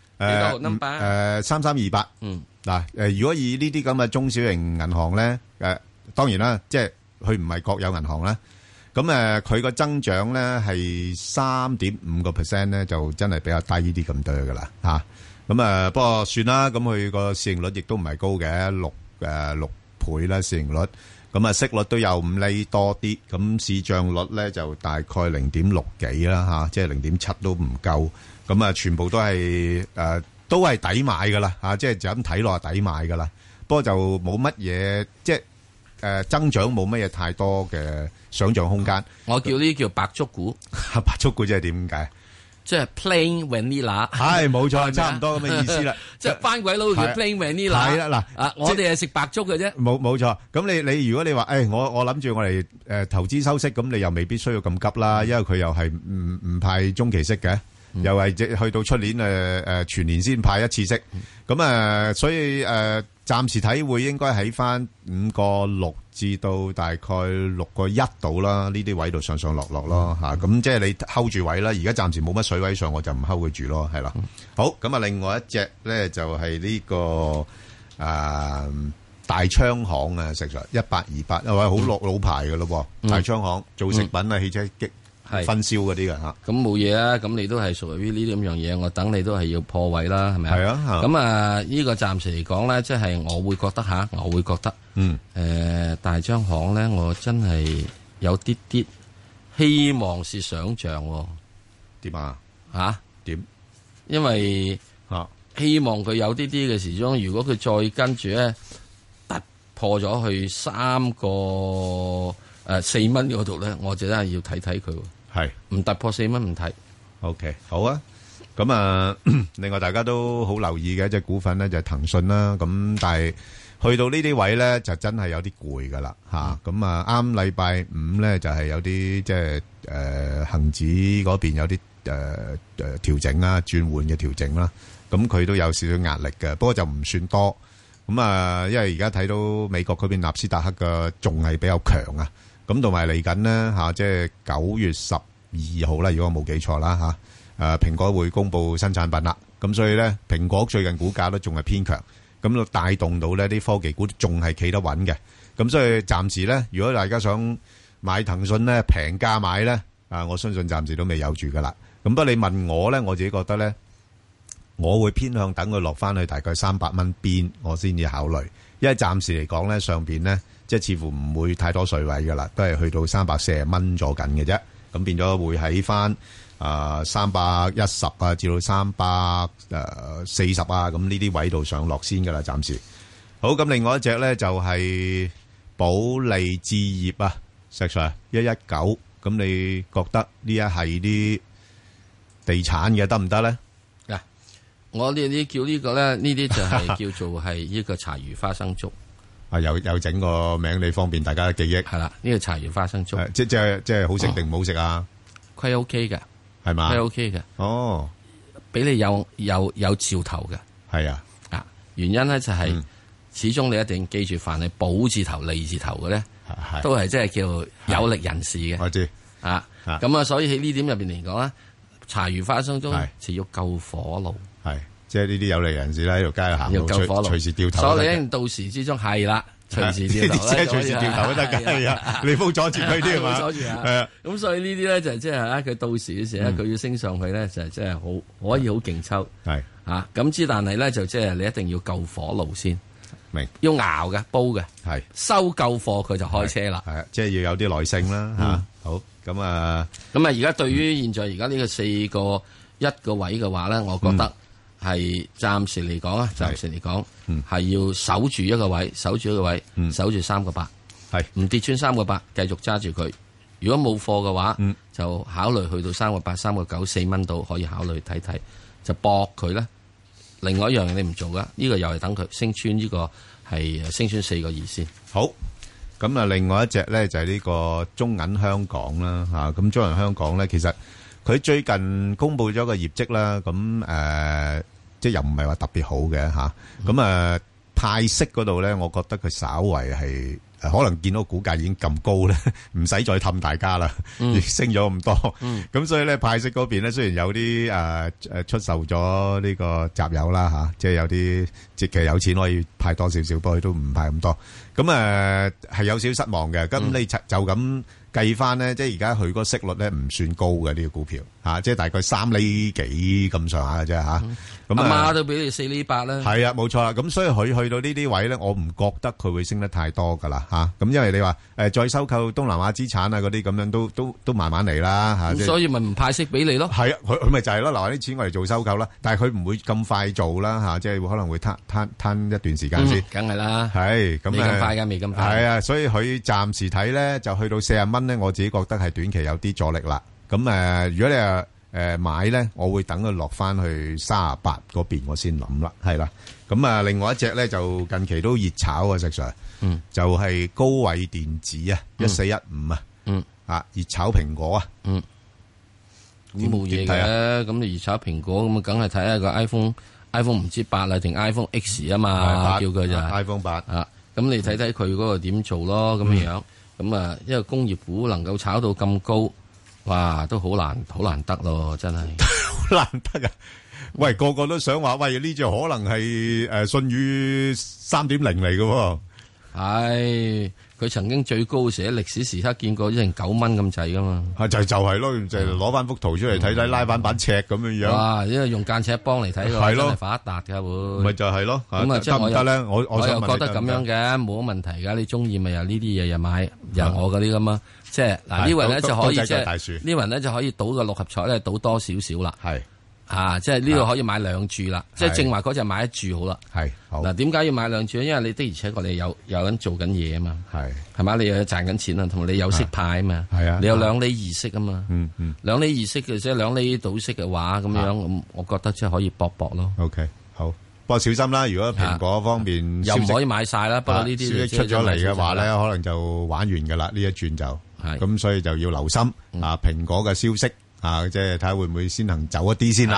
，3328，嗱如果以呢啲咁嘅中小型銀行咧，當然啦，即係佢唔係國有銀行啦，咁佢個增長咧係3.5%咧，就真係比較低啲咁多噶啦吓，咁不過算啦，咁佢個市盈率亦都唔係高嘅，6倍啦市盈率，咁息率都有5厘多啲，咁市賬率咧就大概0.6幾啦吓，即係0.7都唔夠，咁全部都係抵買噶啦吓，即係就咁睇落抵買噶啦，不過就冇乜嘢，即係增長冇乜嘢太多嘅想象空間。 我叫呢啲叫白竹股， 白竹股即係點解？ 即係 plain vanilla， 係冇錯，差唔多咁嘅意思啦。 即係番鬼佬叫 plain vanilla， 係啦嗱，我哋係食白粥嘅啫。 冇錯。咁你如果你話，我諗住我哋投資收息，咁你又未必需要咁急啦，因為佢又係唔派中期息嘅，又係去到出年全年先派一次息。咁所以暫時睇會應該喺翻5.6至到大概6.1度啦，呢啲位度上上落落咯嚇。咁即係你 hold 住位啦。而家暫時冇乜水位上，我就唔 hold 佢住咯，係啦。好，咁啊，另外一隻咧就係呢個大昌行啊，實在1828，因為好老牌嘅咯喎。大昌行做食品啊、汽車分銷嗰啲嘅嚇。 咁冇嘢啊，咁你都係屬於呢啲咁樣嘢，我等你都係要破位啦，係咪啊？ 係啊。 咁啊，呢個暫時嚟講咧，即係我會覺得大昌行咧，我真係有啲希望是想像喎。 點啊？ 嚇？ 點？ 因為希望佢有啲嘅時鐘，如果佢再跟住咧突破咗去3個4蚊嗰度咧，我就真係要睇睇佢。 係唔突破4蚊唔睇。 OK， 好啊。咁啊，另外大家都好留意嘅一隻股份咧，就係騰訊啦。咁但係去到呢啲位咧，就真係有啲攰噶啦嚇。咁啊，啱禮拜5咧就係有啲即係恆指嗰邊有啲調整啦，轉換嘅調整啦。咁佢都有少少壓力嘅，不過就唔算多。咁啊，因為而家睇到美國嗰邊納斯達克嘅仲係比較強啊。咁同埋嚟緊呢，嚇，即係9月12號啦，如果我冇記錯啦嚇。蘋果會公布新產品啦，咁所以咧，蘋果最近股價都仲係偏強，咁就帶動到呢啲科技股仲係企得穩嘅。咁所以暫時咧，如果大家想買騰訊咧，平價買咧，我相信暫時都未有住噶啦。咁不過你問我咧，我自己覺得咧，我會偏向等佢落翻去大概300蚊邊，我先至考慮。因為暫時嚟講咧，上邊咧即係似乎唔會太多水位噶啦，都係去到340蚊咗緊嘅啫。咁變咗會喺翻310啊，至到340啊，咁呢啲位度上落先噶啦，暫時。好，咁另外一隻咧就係保利置業啊，石 Sir 119，咁你覺得呢一係啲地產嘅得唔得咧？ 嗱，我呢啲叫呢個咧，呢啲就係叫做係呢個茶餘花生粥。 又整個名你方便大家嘅記憶。 係啦，呢個茶餘花生粥， 即係好食定唔好食啊？ 虧 OK 嘅， 係嘛？ 虧 OK 嘅。 哦， 俾你有兆頭嘅。 係啊， 原因咧就係始終你一定記住，凡係寶字頭、利字頭嘅咧，都係即係叫有力人士嘅。 我知咁啊，所以喺呢點入邊嚟講咧，茶餘花生中就要救火爐。 係，即係呢啲有利人士喺條街行路，隨時掉頭。 所以咧，到時之中係啦，隨時掉頭咧， 隨時掉頭都得㗎。係啊，你冇阻住佢添嘛？ 阻住係啊。咁所以呢啲咧就即係佢到時嘅時咧，佢要升上去咧，就即係好可以好勁抽。 係咁之，但係咧就即係你一定要救火爐先。 明要熬嘅煲嘅係收夠貨佢就開車啦。 係啊，即係要有啲耐性啦嚇。好咁啊， 而家對於現在而家呢個4個1個位嘅話咧，我覺得係暫時嚟講啊，係要守住一個位，守住3個8，係唔跌穿3個8，繼續揸住佢。如果冇貨嘅話，就考慮去到3個8、3個9、4蚊度可以考慮睇睇，就搏佢咧。另外一樣嘢你唔做噶，呢個又係等佢升穿呢個係升穿4個2先。 好，咁啊，另外一隻咧就係呢個中銀香港啦嚇。咁中銀香港咧，其實佢最近公布咗個業績啦，咁即係又唔係話特別好嘅嚇。咁派息嗰度咧，我覺得佢稍為係可能見到股價已經咁高咧，唔使再氹大家啦，已經升咗咁多。咁所以咧派息嗰邊咧，雖然有啲出售咗呢個集友啦嚇，即係有啲即係有錢可以派多少少，不過都唔派咁多。咁係有少少失望嘅。咁你就咁計翻咧，即係而家佢個息率咧唔算高嘅呢個股票嚇，即係大概3厘幾咁上下嘅啫嚇。咁阿媽都俾你4厘8啦。 係啊，冇錯啦。咁所以佢去到呢啲位咧，我唔覺得佢會升得太多噶啦嚇。咁因為你話再收購東南亞資產啊嗰啲咁樣都慢慢嚟啦嚇。 所以咪唔派息俾你咯。 係啊，佢咪就係咯，留啲錢我嚟做收購啦。但係佢唔會咁快做啦嚇，即係可能會攤一段時間先。 梗係啦。 係咁未咁快㗎，未咁快。 係啊，所以佢暫時睇咧就去到40蚊咧，我自己覺得係短期有啲阻力啦。咁如果你買咧，我會等佢落翻去38嗰邊，我先諗啦，係啦。咁另外一隻咧就近期都熱炒啊，石 Sir，就係高偉電子啊，1415啊，熱炒蘋果啊， 咁冇嘢嘅。咁你熱炒蘋果咁啊，梗係睇下個 iPhone 唔知8啦定 iPhone X 啊嘛，叫佢就 iPhone 8 啊。咁你睇睇佢嗰個點做咯，咁樣咁啊，因為工業股能夠炒到咁高，哇，都好難得咯，真係好難得啊！喂，個個都想話，喂，呢隻可能係信譽 3.0 嚟嘅喎。 係，佢曾經最高時喺歷史時刻見過成9蚊咁滯噶嘛。 就係咯，就攞翻幅圖出嚟睇睇，拉翻版尺咁樣樣。 哇！因為用間尺幫嚟睇嘅話，真係發達㗎會。 咪就係咯。 咁啊，即係得唔得咧？我又覺得咁樣嘅冇乜問題㗎。你中意咪又呢啲嘢又買，又我嗰啲咁啊。即係嗱，呢輪咧就可以即係呢輪咧就可以賭個6合彩咧，賭多少少啦。係。即係呢度可以買2注啦，即係正話嗰隻買1注好啦。係嗱，點解要買2注咧？因為你的而且確你有人做緊嘢啊嘛，係嘛，你又有賺緊錢啊，同埋你有息派啊嘛，係啊，你有2厘2息啊嘛，2厘2息嘅即係2厘倒息嘅話咁樣，咁我覺得即係可以搏咯。 OK， 好，不過小心啦，如果蘋果方面又唔可以買晒啦，不過呢啲消息出咗嚟嘅話咧，可能就玩完噶啦，呢一轉就係咁，所以就要留心啊，蘋果嘅消息。即係睇下會唔會先行走一啲先啦。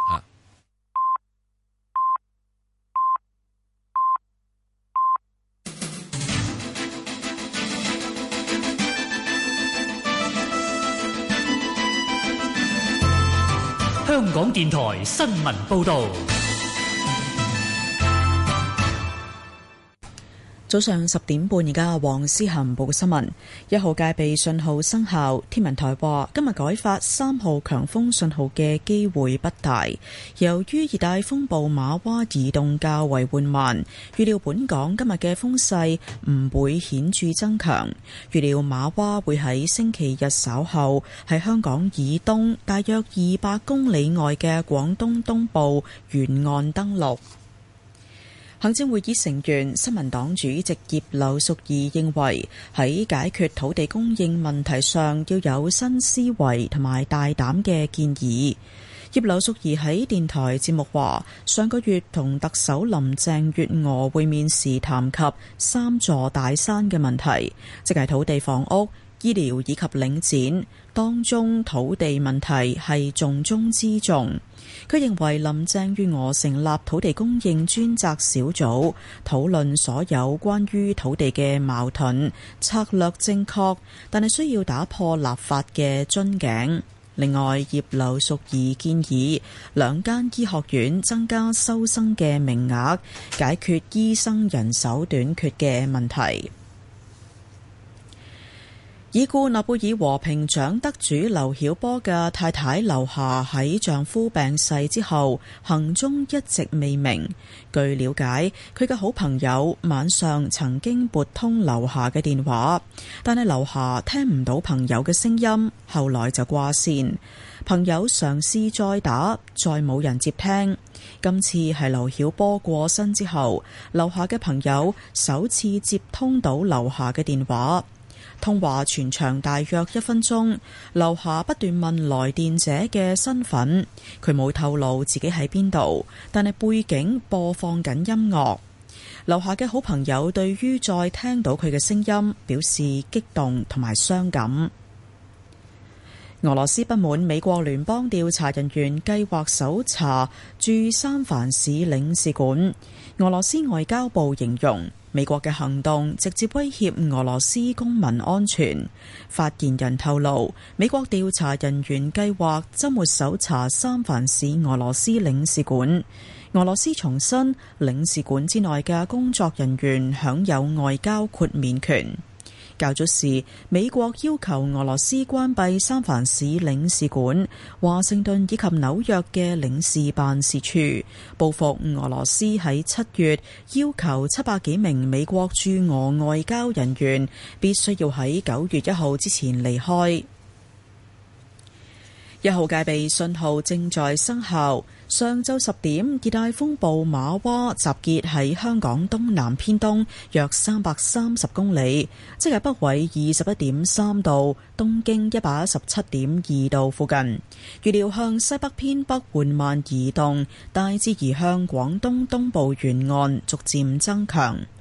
香港電台新聞報道。 早上10點半，而家黃思涵報嘅新聞：1號戒備信號生效。天文台話今日改發3號強風信號嘅機會不大。由於熱帶風暴馬娃移動較為緩慢，預料本港今日嘅風勢唔會顯著增強。預料馬娃會喺星期日稍後喺香港以東大約200公里外嘅廣東東部沿岸登陸。行政會議成員、新民黨主席葉劉淑儀認為，喺解決土地供應問題上要有新思維同埋大膽嘅建議。葉劉淑儀喺電台節目話，上個月同特首林鄭月娥會面時談及3座大山嘅問題，即係土地、房屋、醫療以及領展，當中土地問題係重中之重。佢認為林鄭月娥成立土地供應專責小組，討論所有關於土地嘅矛盾，策略正確，但係需要打破立法嘅樽頸。另外，葉劉淑儀建議2間醫學院增加收生嘅名額，解決醫生人手短缺嘅問題。已故諾貝爾和平獎得主劉曉波嘅太太劉霞喺丈夫病逝之後，行蹤一直未明。據了解，佢嘅好朋友晚上曾經撥通劉霞嘅電話，但係劉霞聽唔到朋友嘅聲音，後來就掛線。朋友嘗試再打，再冇人接聽。今次係劉曉波過身之後，劉霞嘅朋友首次接通到劉霞嘅電話。通話全長大約1分鐘，劉霞不斷問來電者嘅身份，佢冇透露自己喺邊度，但係背景播放緊音樂。劉霞嘅好朋友對於再聽到佢嘅聲音表示激動同埋傷感。俄羅斯不滿美國聯邦調查人員計劃搜查駐三藩市領事館，俄羅斯外交部形容美國嘅行動直接威脅俄羅斯公民安全。發言人透露，美國調查人員計劃週末搜查三藩市俄羅斯領事館。俄羅斯重申，領事館之內嘅工作人員享有外交豁免權。較早時，美國要求俄羅斯關閉三藩市領事館、華盛頓以及紐約嘅領事辦事處，報復俄羅斯喺7月要求700幾名美國駐俄外交人員必須要喺9月1號之前離開。1號戒備信號正在生效。上晝10點，熱帶風暴馬娃集結喺香港東南偏東約330公里，即係北緯21.3度、東經117.2度附近。預料向西北偏北緩慢移動，大致移向廣東東部沿岸，逐漸增強。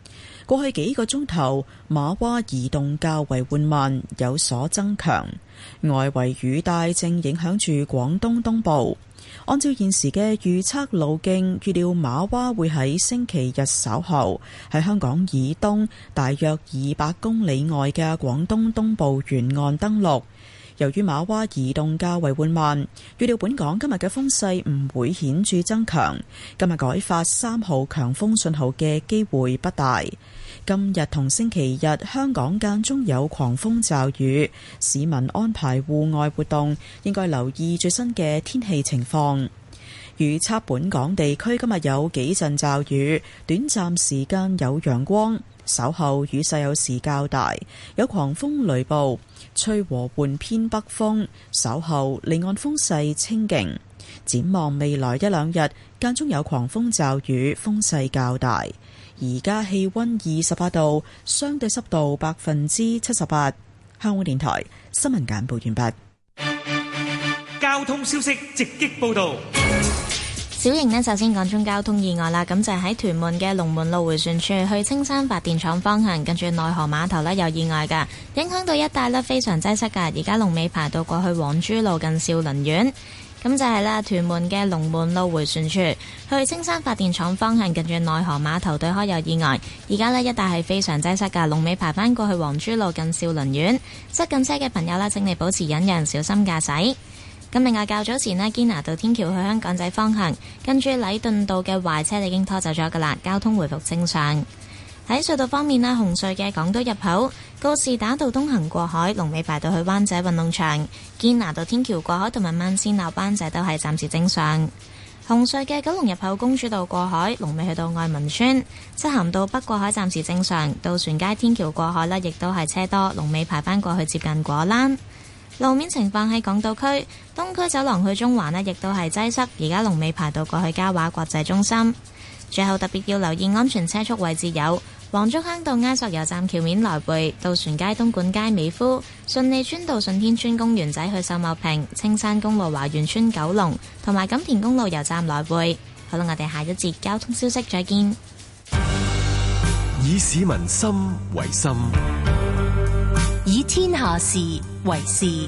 過去幾個鐘頭，瑪娃移動較為緩慢，有所增強。外圍雨帶正影響住廣東東部。按照現時嘅預測路徑，預料瑪娃會喺星期日稍後喺香港以東大約200公里外嘅廣東東部沿岸登陸。由於瑪娃移動較為緩慢，預料本港今日嘅風勢唔會顯著增強。今日改發3號強風信號嘅機會不大。今日同星期日，香港間中有狂風驟雨，市民安排戶外活動應該留意最新嘅天氣情況。預測本港地區今日有幾陣驟雨，短暫時間有陽光，稍後雨勢有時較大，有狂風雷暴，吹和緩偏北風，稍後離岸風勢清勁。展望未來一兩日，間中有狂風驟雨，風勢較大。而家氣溫28度，相對濕度78%。香港電台新聞簡報完畢。 交通消息直擊報道。 小型呢，首先講中交通意外啦，咁就係喺屯門嘅龍門路迴旋處去青山發電廠方向，跟住內河碼頭呢有意外㗎，影響到一帶呢非常擠塞㗎，而家龍尾排到過去黃珠路近兆麟苑。咁就係啦，屯門嘅龍門路迴旋處去青山發電廠方向，近住內河碼頭對開有意外，而家呢一帶係非常擠塞㗎，龍尾排返過去黃珠路近兆麟苑。塞緊車嘅朋友呢，請你保持忍讓，小心駕駛。咁另外較早前呢，堅拿道天橋去香港仔方向，跟住禮頓道嘅壞車已經拖走咗㗎啦，交通回復正常。喺隧道方面呢，紅隧嘅港島入口告士打道東行過海，龍尾排到去灣仔運動場；堅拿道天橋過海同埋慢線落灣仔都係暫時正常。紅隧嘅九龍入口公主道過海，龍尾去到愛民村；漆咸道北過海暫時正常，渡船街天橋過海呢亦都係車多，龍尾排返過去接近果欄。路面情況喺港島區東區走廊去中環呢亦都係擠塞，而家龍尾排到過去嘉華國際中心。最後特別要留意安全車速位置有黃竹坑道埃索油站橋面來回、渡船街東莞街美孚、順利村道順天村公園仔去秀茂坪、青山公路華園村九龍同埋錦田公路油站來回。好啦，我哋下一節交通消息再見。 以市民心為心， 以天下事為事。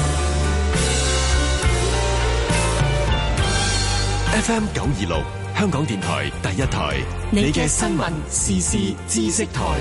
FM 926香港電台第一台，你嘅新聞時事知識台。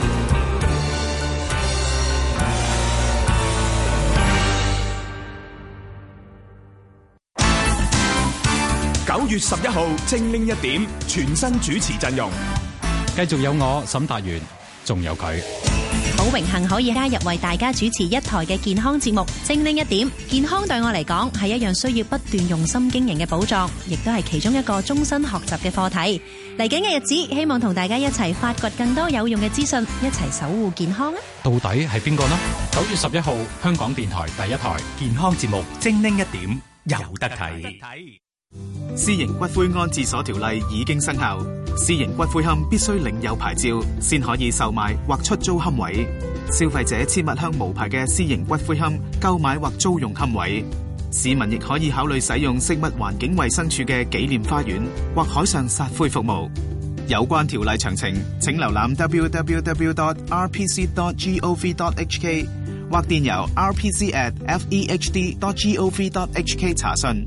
9月11號精靈一點，全新主持陣容， 繼續有我沈達元，仲有佢。 好榮幸可以加入為大家主持一台嘅健康節目，精靈一點。健康對我嚟講係一樣需要不斷用心經營嘅寶藏，亦都係其中一個終身學習嘅課題。嚟緊嘅日子，希望同大家一齊發掘更多有用嘅資訊，一齊守護健康啊！ 到底係邊個呢？9月11號，香港電台第一台健康節目精靈一點，有得睇。 私營骨灰安置所條例已經生效，私營骨灰龕必須領有牌照，先可以售賣或出租龕位。消費者切勿向無牌嘅私營骨灰龕購買或租用龕位。市民亦可以考慮使用食物環境衛生署嘅紀念花園或海上撒灰服務。有關條例詳情，請瀏覽 www.rpc.gov.hk 或電郵 rpc@fehd.gov.hk 查詢。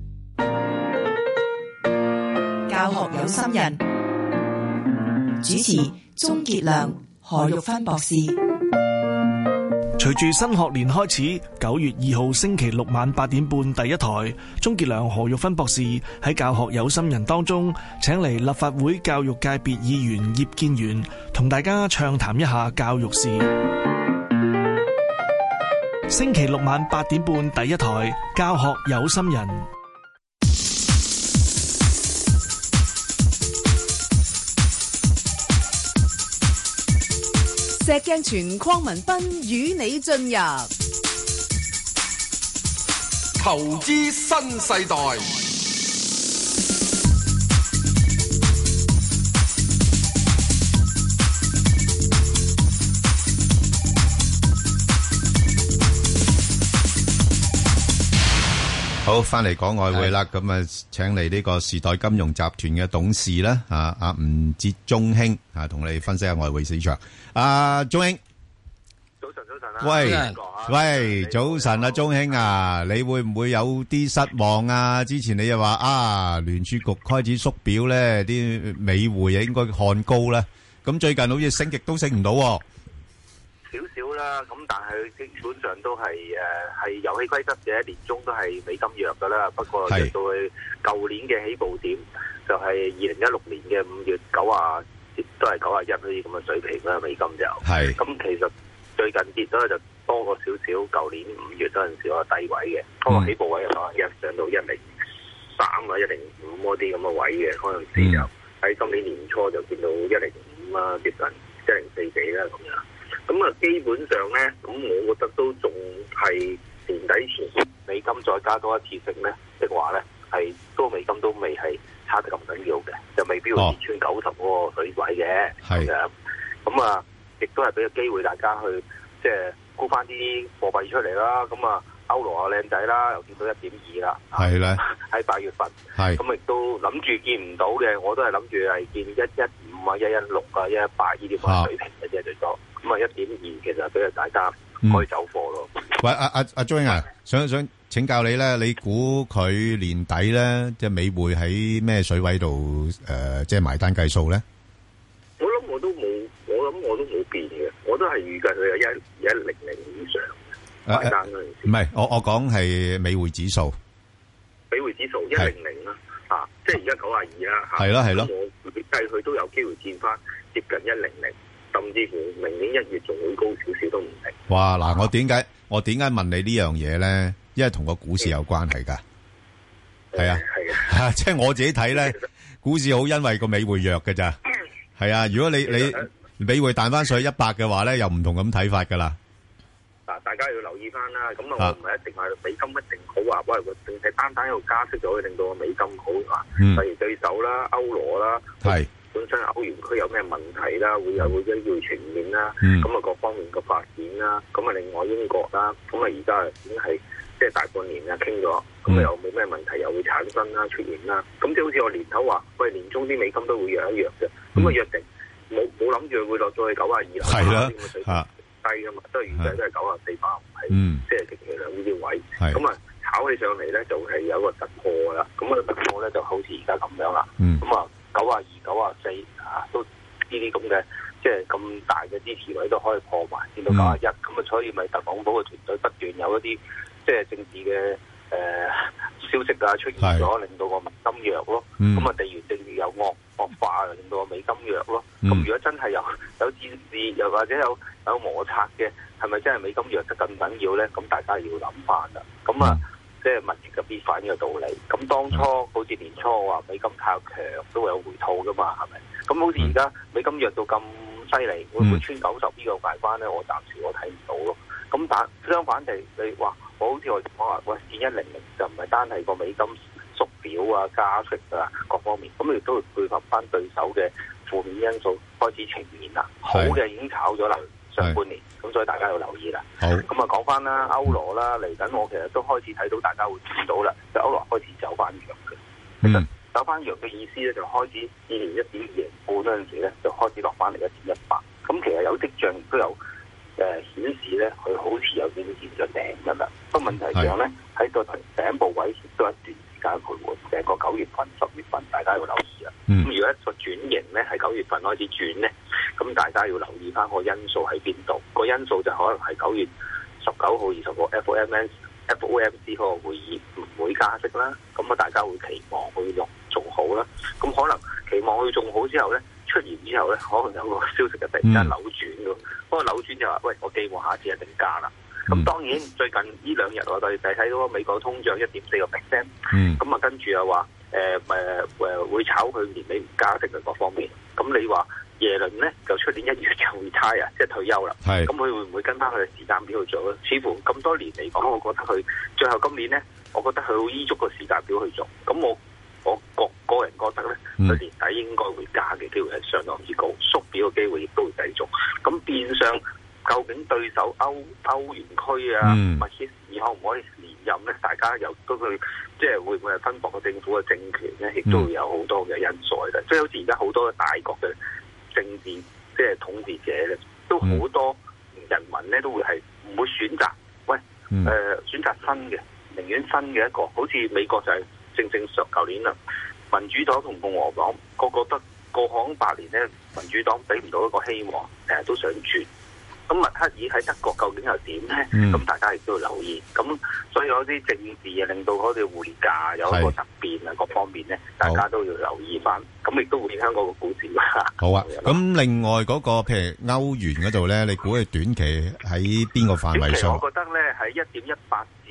教學有心人，主持鍾傑良、何玉芬博士。 隨住新學年開始，9月2號星期六晚8點半第一台，鍾傑良、何玉芬博士喺教學有心人當中，請嚟立法會教育界別議員葉建源，同大家暢談一下教育事。星期六晚8點半第一台，教學有心人。 石鏡泉鄺民彬與你進入投資新世代。 好， 好，翻嚟講外匯啦，咁請嚟呢個時代金融集團嘅董事啦，阿吳哲中興同你分析下外匯市場。中興， 早晨喂，早晨啊，中興啊，你會唔會有啲失望啊？之前你又話聯儲局開始縮表咧，啲美匯應該看高咧，咁最近好似升極都升唔到。 少少啦，咁但係基本上都係遊戲規則嘅，年中都係美金弱噶啦。不過入到去舊年嘅起步點就係2016年嘅5月90，都係91呢啲咁嘅水平啦。美金就咁其實最近跌咗就多過少少。舊年5月嗰陣時個低位嘅，嗰個起步位91上到103啊105嗰啲咁嘅位嘅，嗰陣時就喺今年年初就見到105啊，接近104幾啦咁樣。咁基本上咧，咁我覺得都仲係年底前美金再加多一次息咧的話咧，係都美金都未係差得咁緊要嘅，就未必會跌穿90嗰個水位嘅咁樣。咁亦都係俾個機會大家去即係沽翻啲貨幣出嚟啦。咁歐羅靚仔啦，又見到1.2啦，係咧喺8月份，咁亦都諗住見唔到嘅，我都係諗住係見115啊、116啊、118呢啲咁嘅水平嘅啫，最多。咁1.2其實俾大家可以走貨咯。 喂，阿張英想請教你咧，你估佢年底咧，即係美匯喺咩水位度即係埋單計數咧？ 我諗我都冇變嘅，我都係預計佢有110以上埋單嗰陣時。 唔係，我講係美匯指數。 美匯指數100啦，即係而家92啦。 係咯。 我計佢都有機會見翻接近100。甚至乎明年1月仲會高少少都唔定。哇！ 嗱，我點解問你呢樣嘢咧？因為同個股市有關係㗎。係啊，即係我自己睇咧，股市好因為個美匯弱㗎咋。係啊，如果你美匯彈翻上去100嘅話咧，又唔同咁睇法㗎啦。 嗱，大家要留意翻啦。咁我唔係一定話美金一定好話，喂，淨係單喺度加息就可以令到個美金好啊。例如對手啦、歐羅啦，本身歐元區有咩問題啦，會有機會出現啦，咁各方面嘅發展啦，咁另外英國啦，咁而家已經係即係大半年傾咗，咁又冇咩問題又會產生啦、出現啦，咁即係好似我年頭話，喂，年中啲美金都會弱一弱嘅，咁約定冇諗住會落咗去92啦，係啦，啲咁嘅水平低噶嘛，都係預計都係94吧，即係極其量呢啲位，咁炒起上嚟咧就係有一個突破啦，咁突破咧就好似而家咁樣啦，咁92、94都呢啲咁嘅，即係咁大嘅支持位都可以破埋，見到91，咁所以咪特朗普嘅團隊不斷有一啲即係政治嘅消息出現咗，令到個美金弱咯。咁地緣政治又惡化，令到個美金弱咯。咁如果真係有戰事，又或者有摩擦嘅，係咪真係美金弱得咁緊要咧？咁大家要諗翻啦。咁即係物極必反嘅道理。咁當初好似年初話美金太強都會有回吐噶嘛，係咪？咁好似而家美金弱到咁犀利，會唔會穿90呢個大關咧？我暫時我睇唔到咯。咁但相反地，你話我好似我講話，喂，見100就唔係單係個美金縮表啊、加息啊各方面，咁亦都會配合翻對手嘅負面因素開始呈現啦。好嘅已經炒咗啦。上半年，咁所以大家要留意啦。好，咁講翻啦，歐羅啦，嚟緊我其實都開始睇到大家會見到啦，就歐羅開始走翻弱嘅。其實走翻弱嘅意思咧，就開始2年1.20半嗰陣時咧，就開始落翻嚟1.18。咁其實有跡象亦都有顯示咧，佢好似有啲見咗頂㗎啦。不過問題上咧，喺個頂部位都一段時間徘徊，成個9月份、10月份，大家要留意啦。咁如果一個轉型咧，喺9月份開始轉咧，咁大家要留意翻個因素喺邊度？個因素就可能係9月19號、20號 FOMC 嗰個會議唔會加息啦。咁大家會期望佢做好啦。咁可能期望佢做好之後咧，出現之後咧，可能有個消息就突然間扭轉㗎。嗰個扭轉就話：喂，我寄望下一次一定加啦。咁當然最近呢2日我哋睇到美國通脹1.4%，咁跟住又話會炒佢年尾唔加息嘅各方面。咁你話耶倫咧就出年1月就會差啊，即係退休啦。咁佢會唔會跟翻佢嘅時間表去做咧？似乎咁多年嚟講，我覺得佢最後今年咧，我覺得佢會依足個時間表去做。咁我個人覺得咧，佢年底應該會加嘅機會係相當之高，縮表嘅機會亦都會繼續。咁變相究竟對手歐元區啊，或者以後唔可以連任咧？大家家又都去即係會唔會係分薄個政府嘅政權咧？亦都會有好多嘅因素喺度。即係好似而家好多大國嘅政治即係統治者咧，都好多人民咧都會係唔會選擇選擇新嘅，寧願新嘅一個。好似美國就係正上舊年啦，民主黨同共和黨個覺得過往8年咧，民主黨俾唔到一個希望，成日都想轉。咁默克爾喺德國究竟又點咧？咁大家亦都要留意。咁所以有啲政治啊，令到嗰啲匯價有一個突變啊，各方面咧，大家都要留意翻。咁亦都會影響嗰個股市啦。 好啊。咁另外嗰個譬如歐元嗰度咧，你估佢短期喺邊個範圍上？ 我覺得咧喺1.18至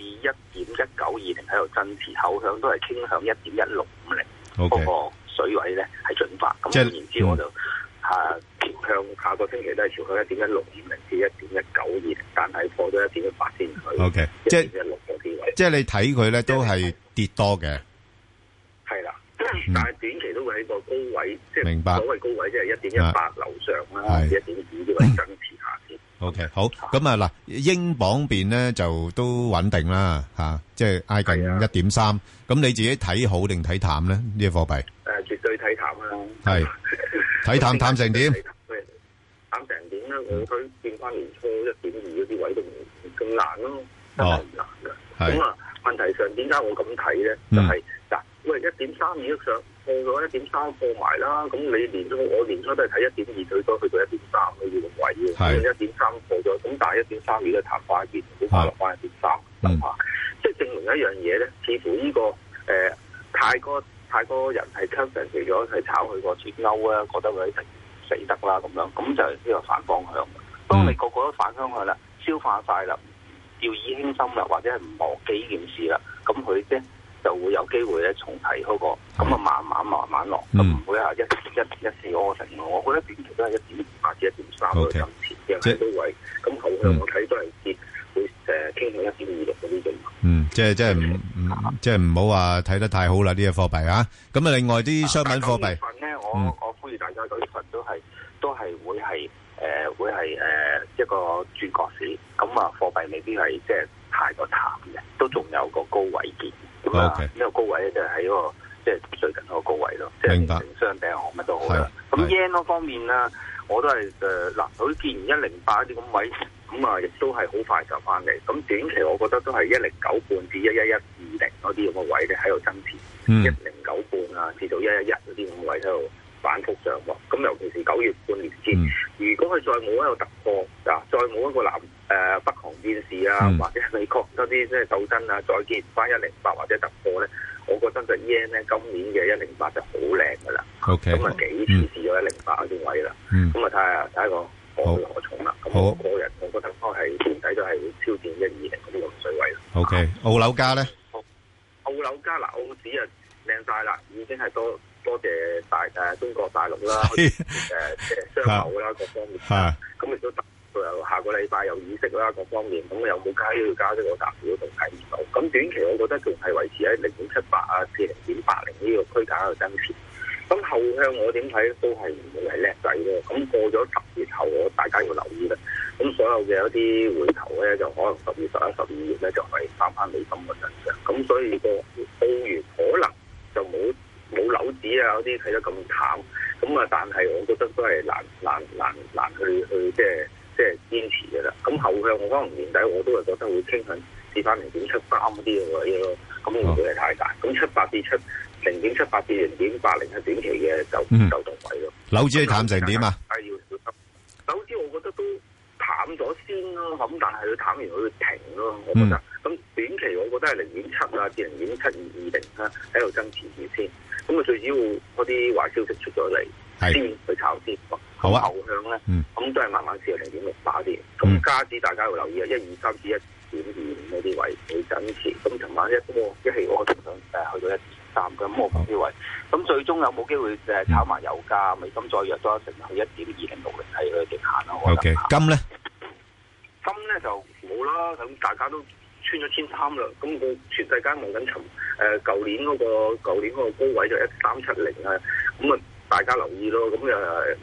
1.1920喺度增持，後向都係傾向1.1650嗰個水位咧係進發。咁換言之，我就朝向下個星期都係朝向1.1650至1.1920，但係破咗1.18先去。 OK， 即係1.16嗰啲位。即係你睇佢咧都係跌多嘅。係啦，但係短期都會喺個高位，即係所謂高位，即係1.18樓上啦，1.2啲位增持下先。OK， 好。咁啊嗱，英鎊邊咧就都穩定啦，即係挨近1.3。咁你自己睇好定睇淡咧？呢個貨幣？ 絕對睇淡啦。係。 睇淡成點？ 淡成點咧？我睇見翻年初1.2嗰啲位都唔咁難咯，真係唔難嘅。咁問題上點解我咁睇咧？就係嗱，喂1.32上破咗1.3破埋啦。咁你我年初都係睇1.2，最多去到1.3嗰啲位嘅。咁1.3破咗，咁但係1.3而家彈翻一邊，好快落翻1.3，諗下，即係證明一樣嘢咧，似乎呢個太多人係 concentrate 咗係炒佢個脫歐啊，覺得佢一定死得啦咁樣，咁就係呢個反方向。當你個個都反方向啦，消化晒啦，掉以輕心啦，或者係唔忘記呢件事啦，咁佢咧就會有機會咧重提嗰個，咁啊慢慢落，咁唔會係一四柯成。我覺得短期都係1.28至1.3嗰個增持嘅喺高位，咁後向我睇都係跌，會傾向1.26嗰啲嘅。 即係唔好話睇得太好啦呢個貨幣啊！咁啊，另外啲商品貨幣， 我呼籲大家9月份都係會係一個轉角市，咁啊貨幣未必係即係太過淡嘅，都仲有個高位見。咁啊呢個高位咧就係喺個即係最近嗰個高位咯，即係成雙頂行乜都好啦。咁 yen 嗰方面啦，我都係嗱，佢見完108啲咁位。咁啊，亦都係好快就翻嚟。咁短期我覺得都係109半至11120嗰啲咁嘅位咧喺度增持，109半啊至到111嗰啲咁嘅位喺度反覆上落。咁尤其是9月半年線，如果佢再冇一個突破，再冇一個北韓戰事啊，或者美國嗰啲即係鬥爭啊，再見翻108或者突破咧，我覺得就 yen 咧今年嘅108就好靚噶啦。咁啊幾次試咗108嗰啲位啦。咁啊睇下個何去何從啦。咁我個人我覺得都係年底都係會挑戰120嗰啲咁水位咯。 OK， 澳樓價咧？ 澳樓價嗱，澳紙啊靚晒啦，已經係多謝中國大陸啦，即係商貿啦各方面。咁亦都下個禮拜有議息啦各方面，咁有冇加呢個加息我暫時都仲睇唔到。咁短期我覺得仲係維持喺0.78啊至0.80呢個區間喺度增持。咁後向我點睇都係唔會係叻仔咯。咁過咗10月後，大家要留意啦。咁所有嘅一啲回頭咧，就可能10月、11、12月咧，就係翻美金嘅身上。咁所以個澳元可能就冇樓指啊嗰啲睇得咁淡。咁啊，但係我覺得都係難去即係堅持嘅啦。咁後向我可能年底我都係覺得會傾向試翻0.73嗰啲嘅位咯。咁唔會係太大。咁0.78至0.80係短期嘅就動位咯。 樓指係淡成點啊？ 係要小心。樓指我覺得都淡咗先咯，咁但係佢淡完佢會停咯，我覺得。咁短期我覺得係0.7啊至0.7220啦，喺度增持住先。咁啊最主要嗰啲壞消息出咗嚟，先去炒先。好啊。後向咧，咁都係慢慢試下0.68啲。咁加指大家要留意啊，123至1.25嗰啲位會增持。咁尋晚一氣我仲想去到1.3嘅，咁我冇機會。咁最終有冇機會炒埋油價？美金再弱多一成去1.2060係佢嘅極限咯。我覺得。 金咧？ 金咧就冇啦，咁大家都穿咗1,300啦。咁個全世界望緊舊年嗰個高位就1,370啊。咁啊，大家留意咯。咁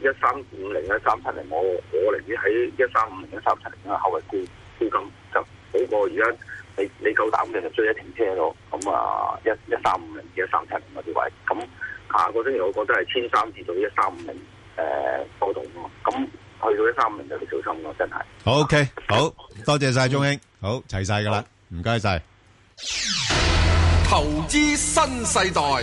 1,350啊、1,370，我寧願喺1,350、1,370啊後位沽金就好過而家你夠膽嘅就追一停車咯。咁啊1350、1370嗰啲位，咁下個星期我覺得係1300至到1350波動咯。咁去到1350就要小心咯，真係。 OK， 好多謝晒鐘兄，好齊晒噶啦，唔該晒。 投資新世代。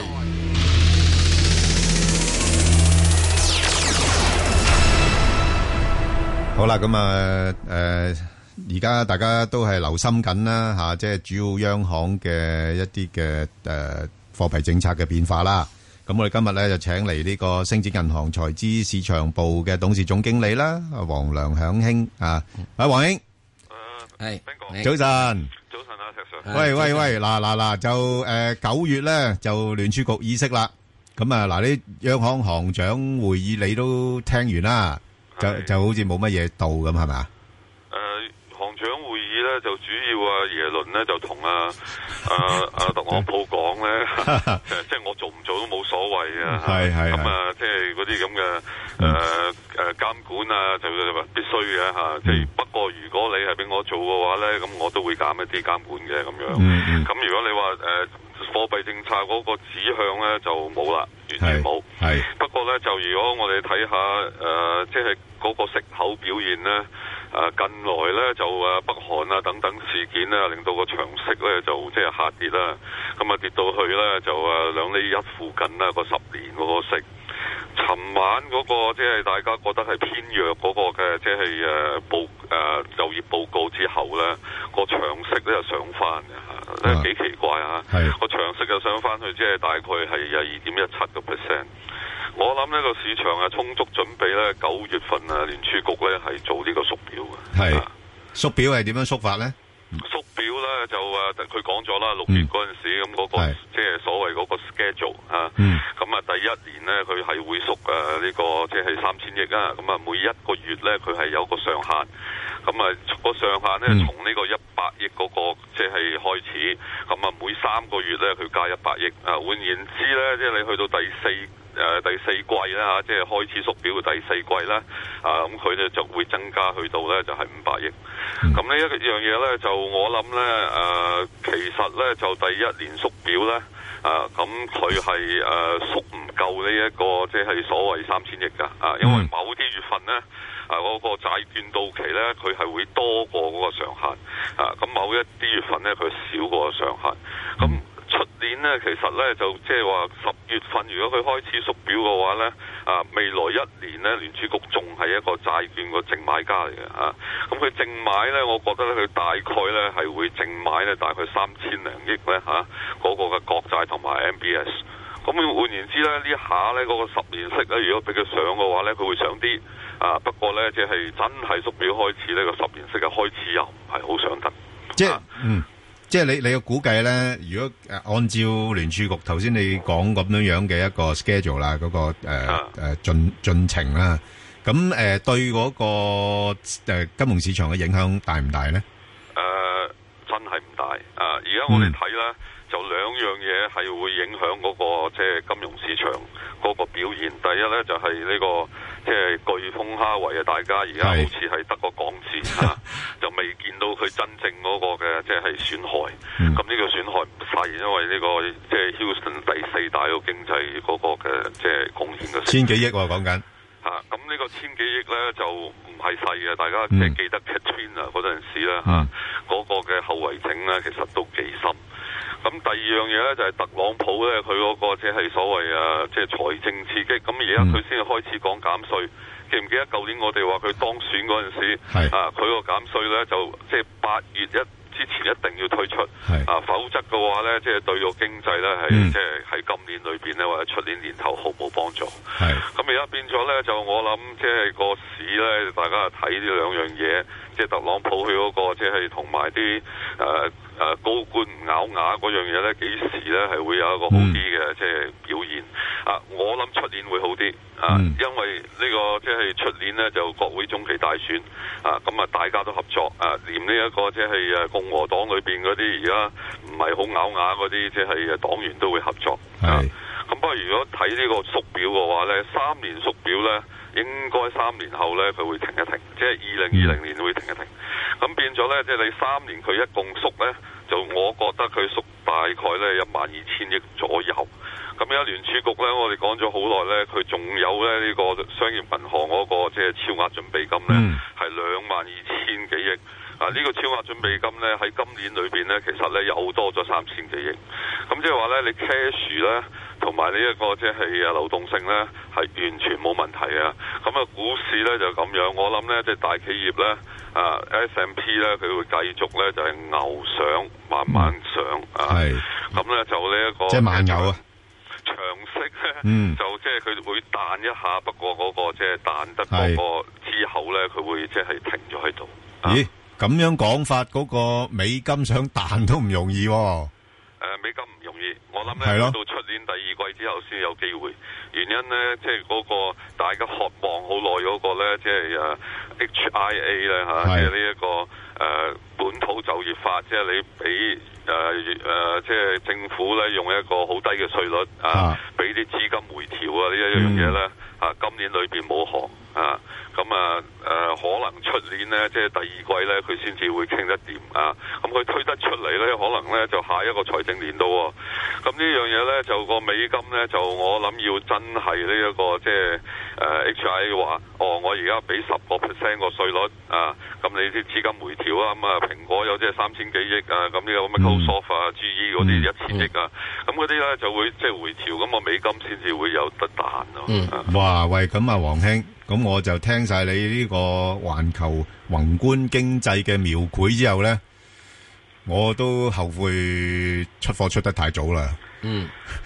好啦，咁而家大家都係留心緊啦吓，即係主要央行嘅一啲嘅貨幣政策嘅變化啦。咁我哋今日咧就請嚟呢個星展銀行財資市場部嘅董事總經理啦，黃良響兄啊，黃兄， 係早晨， 早晨啊，石 Sir。 喂，嗱，就9月咧就聯儲局議息啦。咁啊，嗱，啲央行行長會議你都聽完啦。就好似冇乜嘢到咁係咪啊？ 行長會議咧就主要耶倫咧就同特朗普講咧，即係我做唔做都冇所謂啊。係咁啊，即係嗰啲咁嘅監管啊，就必須嘅嚇。即係不過如果你係俾我做嘅話咧，咁我都會減一啲監管嘅咁樣。咁如果你話貨幣政策嗰個指向咧就冇啦，完全冇。係不過咧就如果我哋睇下即係嗰個息口表現咧，近來咧就北韓啊等等事件咧，令到個長息咧就即係下跌啦。咁啊跌到去咧就2厘1附近啦，個10年嗰個息。尋晚嗰個即係大家覺得係偏弱嗰個嘅，即係就業報告之後咧，個長息咧就上翻嘅嚇，幾奇怪嚇。個長息就上翻去，即係大概係2.17%。我諗呢個市場充足準備咧，9月份聯儲局咧係做呢個縮表嘅。係縮表係點樣縮法咧？ 縮表咧就佢講咗啦，6月嗰陣時咁嗰個即係所謂嗰個 schedule 啊。咁啊第一年咧佢係會縮呢個即係3000億啊。咁啊每一個月咧佢係有個上限。咁啊個上限咧從呢個100億嗰個即係開始。咁啊每3個月咧佢加100億。換言之咧，即係你去到第四季啦嚇，即係開始縮表嘅第4季啦，咁佢咧就會增加去到咧就係500億。咁呢一樣嘢咧就我諗咧其實咧就第一年縮表咧咁佢係縮唔夠呢一個即係所謂3000億㗎，因為某啲月份咧嗰個債券到期咧佢係會多過嗰個上限，咁某一啲月份咧佢少過個上限，咁。出年呢，其實呢，就即係話10月份，如果佢開始縮表嘅話呢，未來1年呢，聯儲局仲係一個債券個淨買家嚟嘅嚇。咁佢淨買呢，我覺得咧佢大概呢係會淨買呢大概3000零億呢嚇嗰個嘅國債同埋 MBS。咁換言之呢，呢下呢嗰個10年息呢，如果俾佢上嘅話呢，佢會上啲。不過呢，即係真係縮表開始呢個10年息嘅開始又唔係好上得。 即係你嘅估計咧，如果按照聯儲局頭先你講咁樣嘅一個 schedule 啦，嗰個進程啦，咁對嗰個金融市場嘅影響大唔大咧？ 真係唔大。而家我哋睇咧，就2樣嘢係會影響嗰個即係金融市場嗰個表現。第一咧就係呢個即係颶風哈維啊！大家而家好似係得個講字嚇，就未見到佢真正嗰個嘅即係損害。咁呢個損害唔細，因為呢個即係 Houston 第4大個經濟嗰個嘅即係貢獻嘅 1000幾億喎講緊。 咁呢個1000幾億咧就唔係細嘅，大家即係記得 Katrina 嗰陣時咧嗰個嘅後遺症咧其實都幾深。咁第二樣嘢咧就係特朗普咧，佢嗰個即係所謂即係財政刺激。咁而家佢先開始講減稅，記唔記得舊年我哋話佢當選嗰陣時，佢個減稅咧就即係8月之前一定要推出，否則嘅話咧，即係對個經濟咧係即係喺今年裏邊咧或者出年年頭毫無幫助。咁而家變咗咧，就我諗即係個市咧，大家睇呢2樣嘢，即係特朗普佢嗰個即係同埋啲高官唔咬牙嗰樣嘢咧，幾時咧係會有一個好啲嘅即係表現？我諗出年會好啲，因為呢個即係出年咧就國會中期大選，咁大家都合作，連呢一個即係共和黨裏邊嗰啲而家唔係好咬牙嗰啲即係黨員都會合作。咁不過如果睇呢個縮表嘅話咧，3年縮表咧，應該3年後咧佢會停一停，即係2020年會停一停。咁變咗咧，即係你3年佢一共縮咧，就我覺得佢縮大概咧12000億左右。咁而家聯儲局咧，我哋講咗好耐咧，佢仲有咧呢個商業銀行嗰個即係超額準備金咧，係22000幾億。呢個超額準備金咧喺今年裏邊咧，其實咧又多咗3000幾億。咁即係話咧，你 cash 咧同埋呢一個即係流動性咧係完全冇問題啊。咁啊，股市咧就咁樣，我諗咧即係大企業咧S&P 咧佢會繼續咧就係牛上，慢慢上咁咧就呢一個即係慢牛啊。 長息咧，就即係佢會彈一下，不過嗰個即係彈得嗰個之後咧，佢會即係停咗喺度。 咦？咁樣講法，嗰個美金想彈都唔容易喎。 美金唔容易，我諗咧到出年第2季之後先有機會。原因咧，即係嗰個大家渴望好耐嗰個咧，即係HIA 咧嚇，即係呢一個本土就業法，即係你俾即係政府咧用一個好低嘅稅率俾啲資金回調啊，呢一樣嘢咧今年裏邊冇行啊。咁可能出年咧，即係第2季咧，佢先至會傾得掂啊！咁佢推得出嚟咧，可能咧就下一個財政年度喎。咁呢樣嘢咧，就個美金咧，就我諗要真係呢一個即係HIA 話，我而家俾10% 個稅率啊，咁你啲資金回調啊，咁啊蘋果有即係3000幾億啊，咁呢個 Microsoft 啊、GE 嗰啲1000億啊，咁嗰啲咧就會即係回調，咁個美金先至會有得彈咯。 哇！喂，咁啊，黃兄。咁我就聽晒你呢個環球宏觀經濟嘅描繪之後咧，我都後悔出貨出得太早啦。因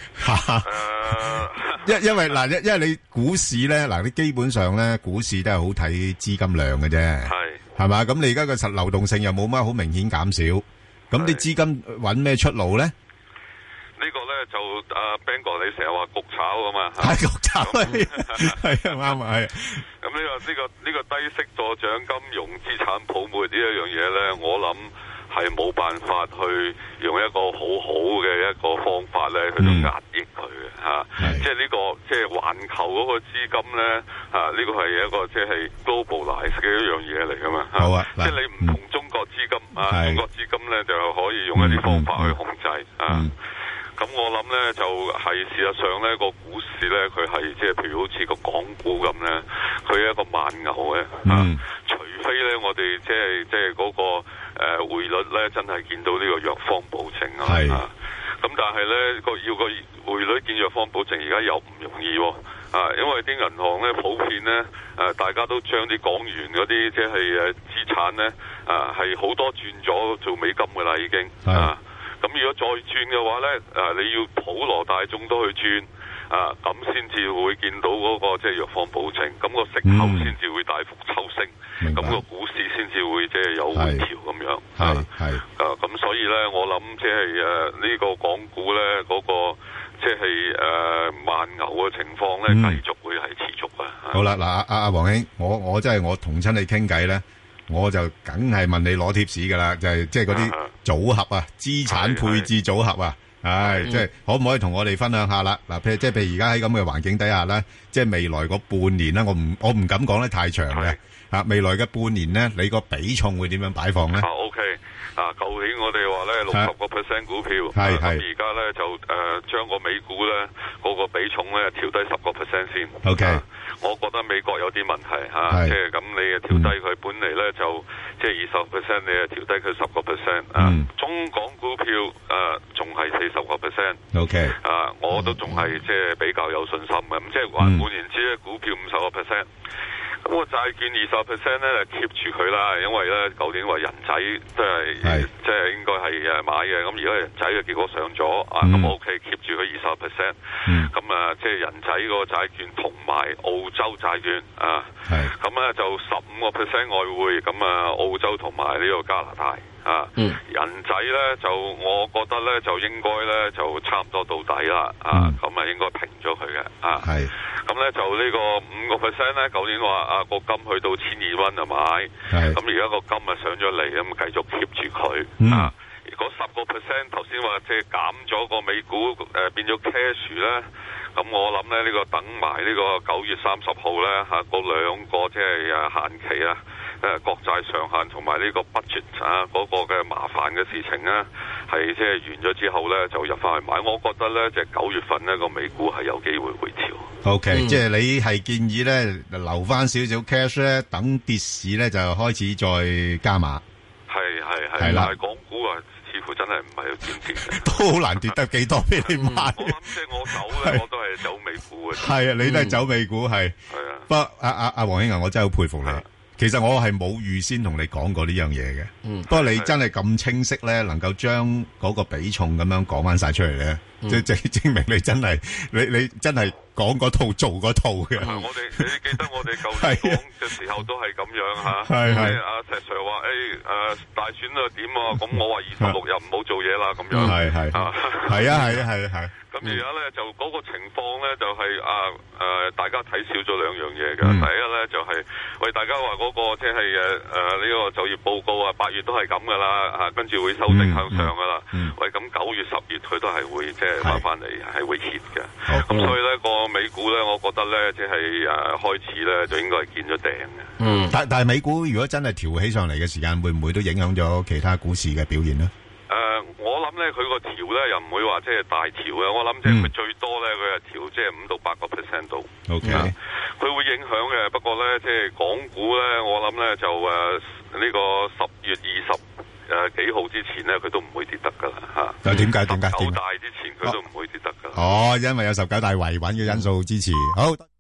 為嗱，因為你股市咧，嗱，你基本上咧，股市都係好睇資金量嘅啫，係嘛？咁你而家個實流動性又冇乜好明顯減少，咁啲資金揾咩出路咧？ 呢個咧就Ben 哥，你成日話焗炒啊嘛， 係焗炒係啱啊，係。 咁呢個低息助長金融資產泡沫呢一樣嘢咧，我諗係冇辦法去用一個好好嘅一個方法咧去到壓抑佢嘅嚇。即係呢個即係環球嗰個資金咧呢個係一個即係 globalize 嘅一樣嘢嚟噶嘛。好啊，即係你唔同中國資金中國資金咧就可以用一啲方法去控制咁我諗咧就係事實上咧個股市咧佢係即係譬如好似個港股咁咧，佢係一個慢牛嘅除非咧我哋即係嗰個匯率咧真係見到呢個藥方保證咁但係咧要個匯率見藥方保證而家又唔容易因為啲銀行咧普遍咧大家都將啲港元嗰啲即係資產咧係好多轉咗做美金噶啦已經咁如果再轉嘅話咧，你要普羅大眾都去轉，咁先至會見到嗰個即係藥方保證，咁個息口先至會大幅抽升，咁個股市先至會即係有回調咁樣。咁所以咧，我諗即係呢個港股咧嗰個即係慢牛嘅情況咧，繼續會係持續啊。 好啦，嗱阿黃兄，我真係我同親你傾偈咧。我就梗係問你攞貼士噶啦，就係即係嗰啲組合啊，資產配置組合啊，即係可唔可以同我哋分享下啦？嗱，譬如而家喺咁嘅環境底下咧，即係未來嗰半年咧，我唔敢講得太長嘅未來嘅半年咧，你個比重會點樣擺放咧 ？OK，舊年我哋話咧60% 股票，咁而家咧就將個美股咧嗰個比重咧調低10% 先。 OK。 我覺得美國有啲問題即係咁你調低佢，本嚟咧就即係20%，你調低佢10%。中港股票仲係40%。OK。我都仲係即係比較有信心嘅。咁即係換言之咧，股票50%。咁個債券20% 咧就 keep 住佢啦，因為咧舊年話人仔都係即係應該係買嘅，咁而家人仔嘅結果上咗咁 OK keep 住佢20%。咁即係人仔個債券同埋澳洲債券咁咧就15% 外匯，咁澳洲同埋呢個加拿大人仔咧就我覺得咧就應該咧就差唔多到底啦咁應該平咗佢嘅咁咧就呢個5% 咧，舊年話個金去到1200蚊就買，咁而家個金上咗嚟，咁繼續 keep 住佢嗰10%頭先話即係減咗個美股變咗 cash 咧， 咁我諗咧呢個等埋呢個9月30號咧嚇嗰兩個即係限期啊，國債上限同埋呢個 budget 嗰個嘅麻煩嘅事情咧，係即係完咗之後咧就入翻去買。我覺得咧即係9月份呢個美股係有機會回調。 OK，即係你係建議咧留翻少少 cash 咧，等跌市咧就開始再加碼。係啦，港股啊，似乎真係唔係點跌嘅， 都好難跌得幾多俾你買。 我諗即係我走咧，我都係走美股嘅。 係啊，你都係走美股係。係啊。不過阿黃兄啊，我真係好佩服你。其實我係冇預先同你講過呢樣嘢嘅。不過你真係咁清晰咧，能夠將嗰個比重咁樣講翻晒出嚟咧，即係證明你真係你真係講嗰套做嗰套嘅。 我哋你記得我哋舊年講嘅時候都係咁樣嚇。係阿石 Sir 話大選啊點啊，咁我話26日唔好做嘢啦咁樣。係。咁而家咧就嗰個情況咧就係大家睇少咗兩樣嘢嘅。第一咧就係大家話嗰個即係呢個就業報告8月都係咁噶啦，跟住會修正向上噶啦。咁9月10月佢都係會即係翻嚟係會 hit 嘅。咁所以咧個美股咧，我覺得咧即係開始咧就應該係見咗頂嘅。 但係美股如果真係調起上嚟嘅時間，會唔會都影響咗其他股市嘅表現呢？ 我諗咧，佢個調咧又唔會話即係大調嘅。我諗即係佢最多咧，佢係調即係5到8% 度。OK，佢會影響嘅。不過咧，即係港股咧，我諗咧就呢個10月20幾號之前咧，佢都唔會跌得噶啦嚇。 又點解？ 19大之前佢都唔會跌得噶。 哦，因為有19大維穩嘅因素支持。好。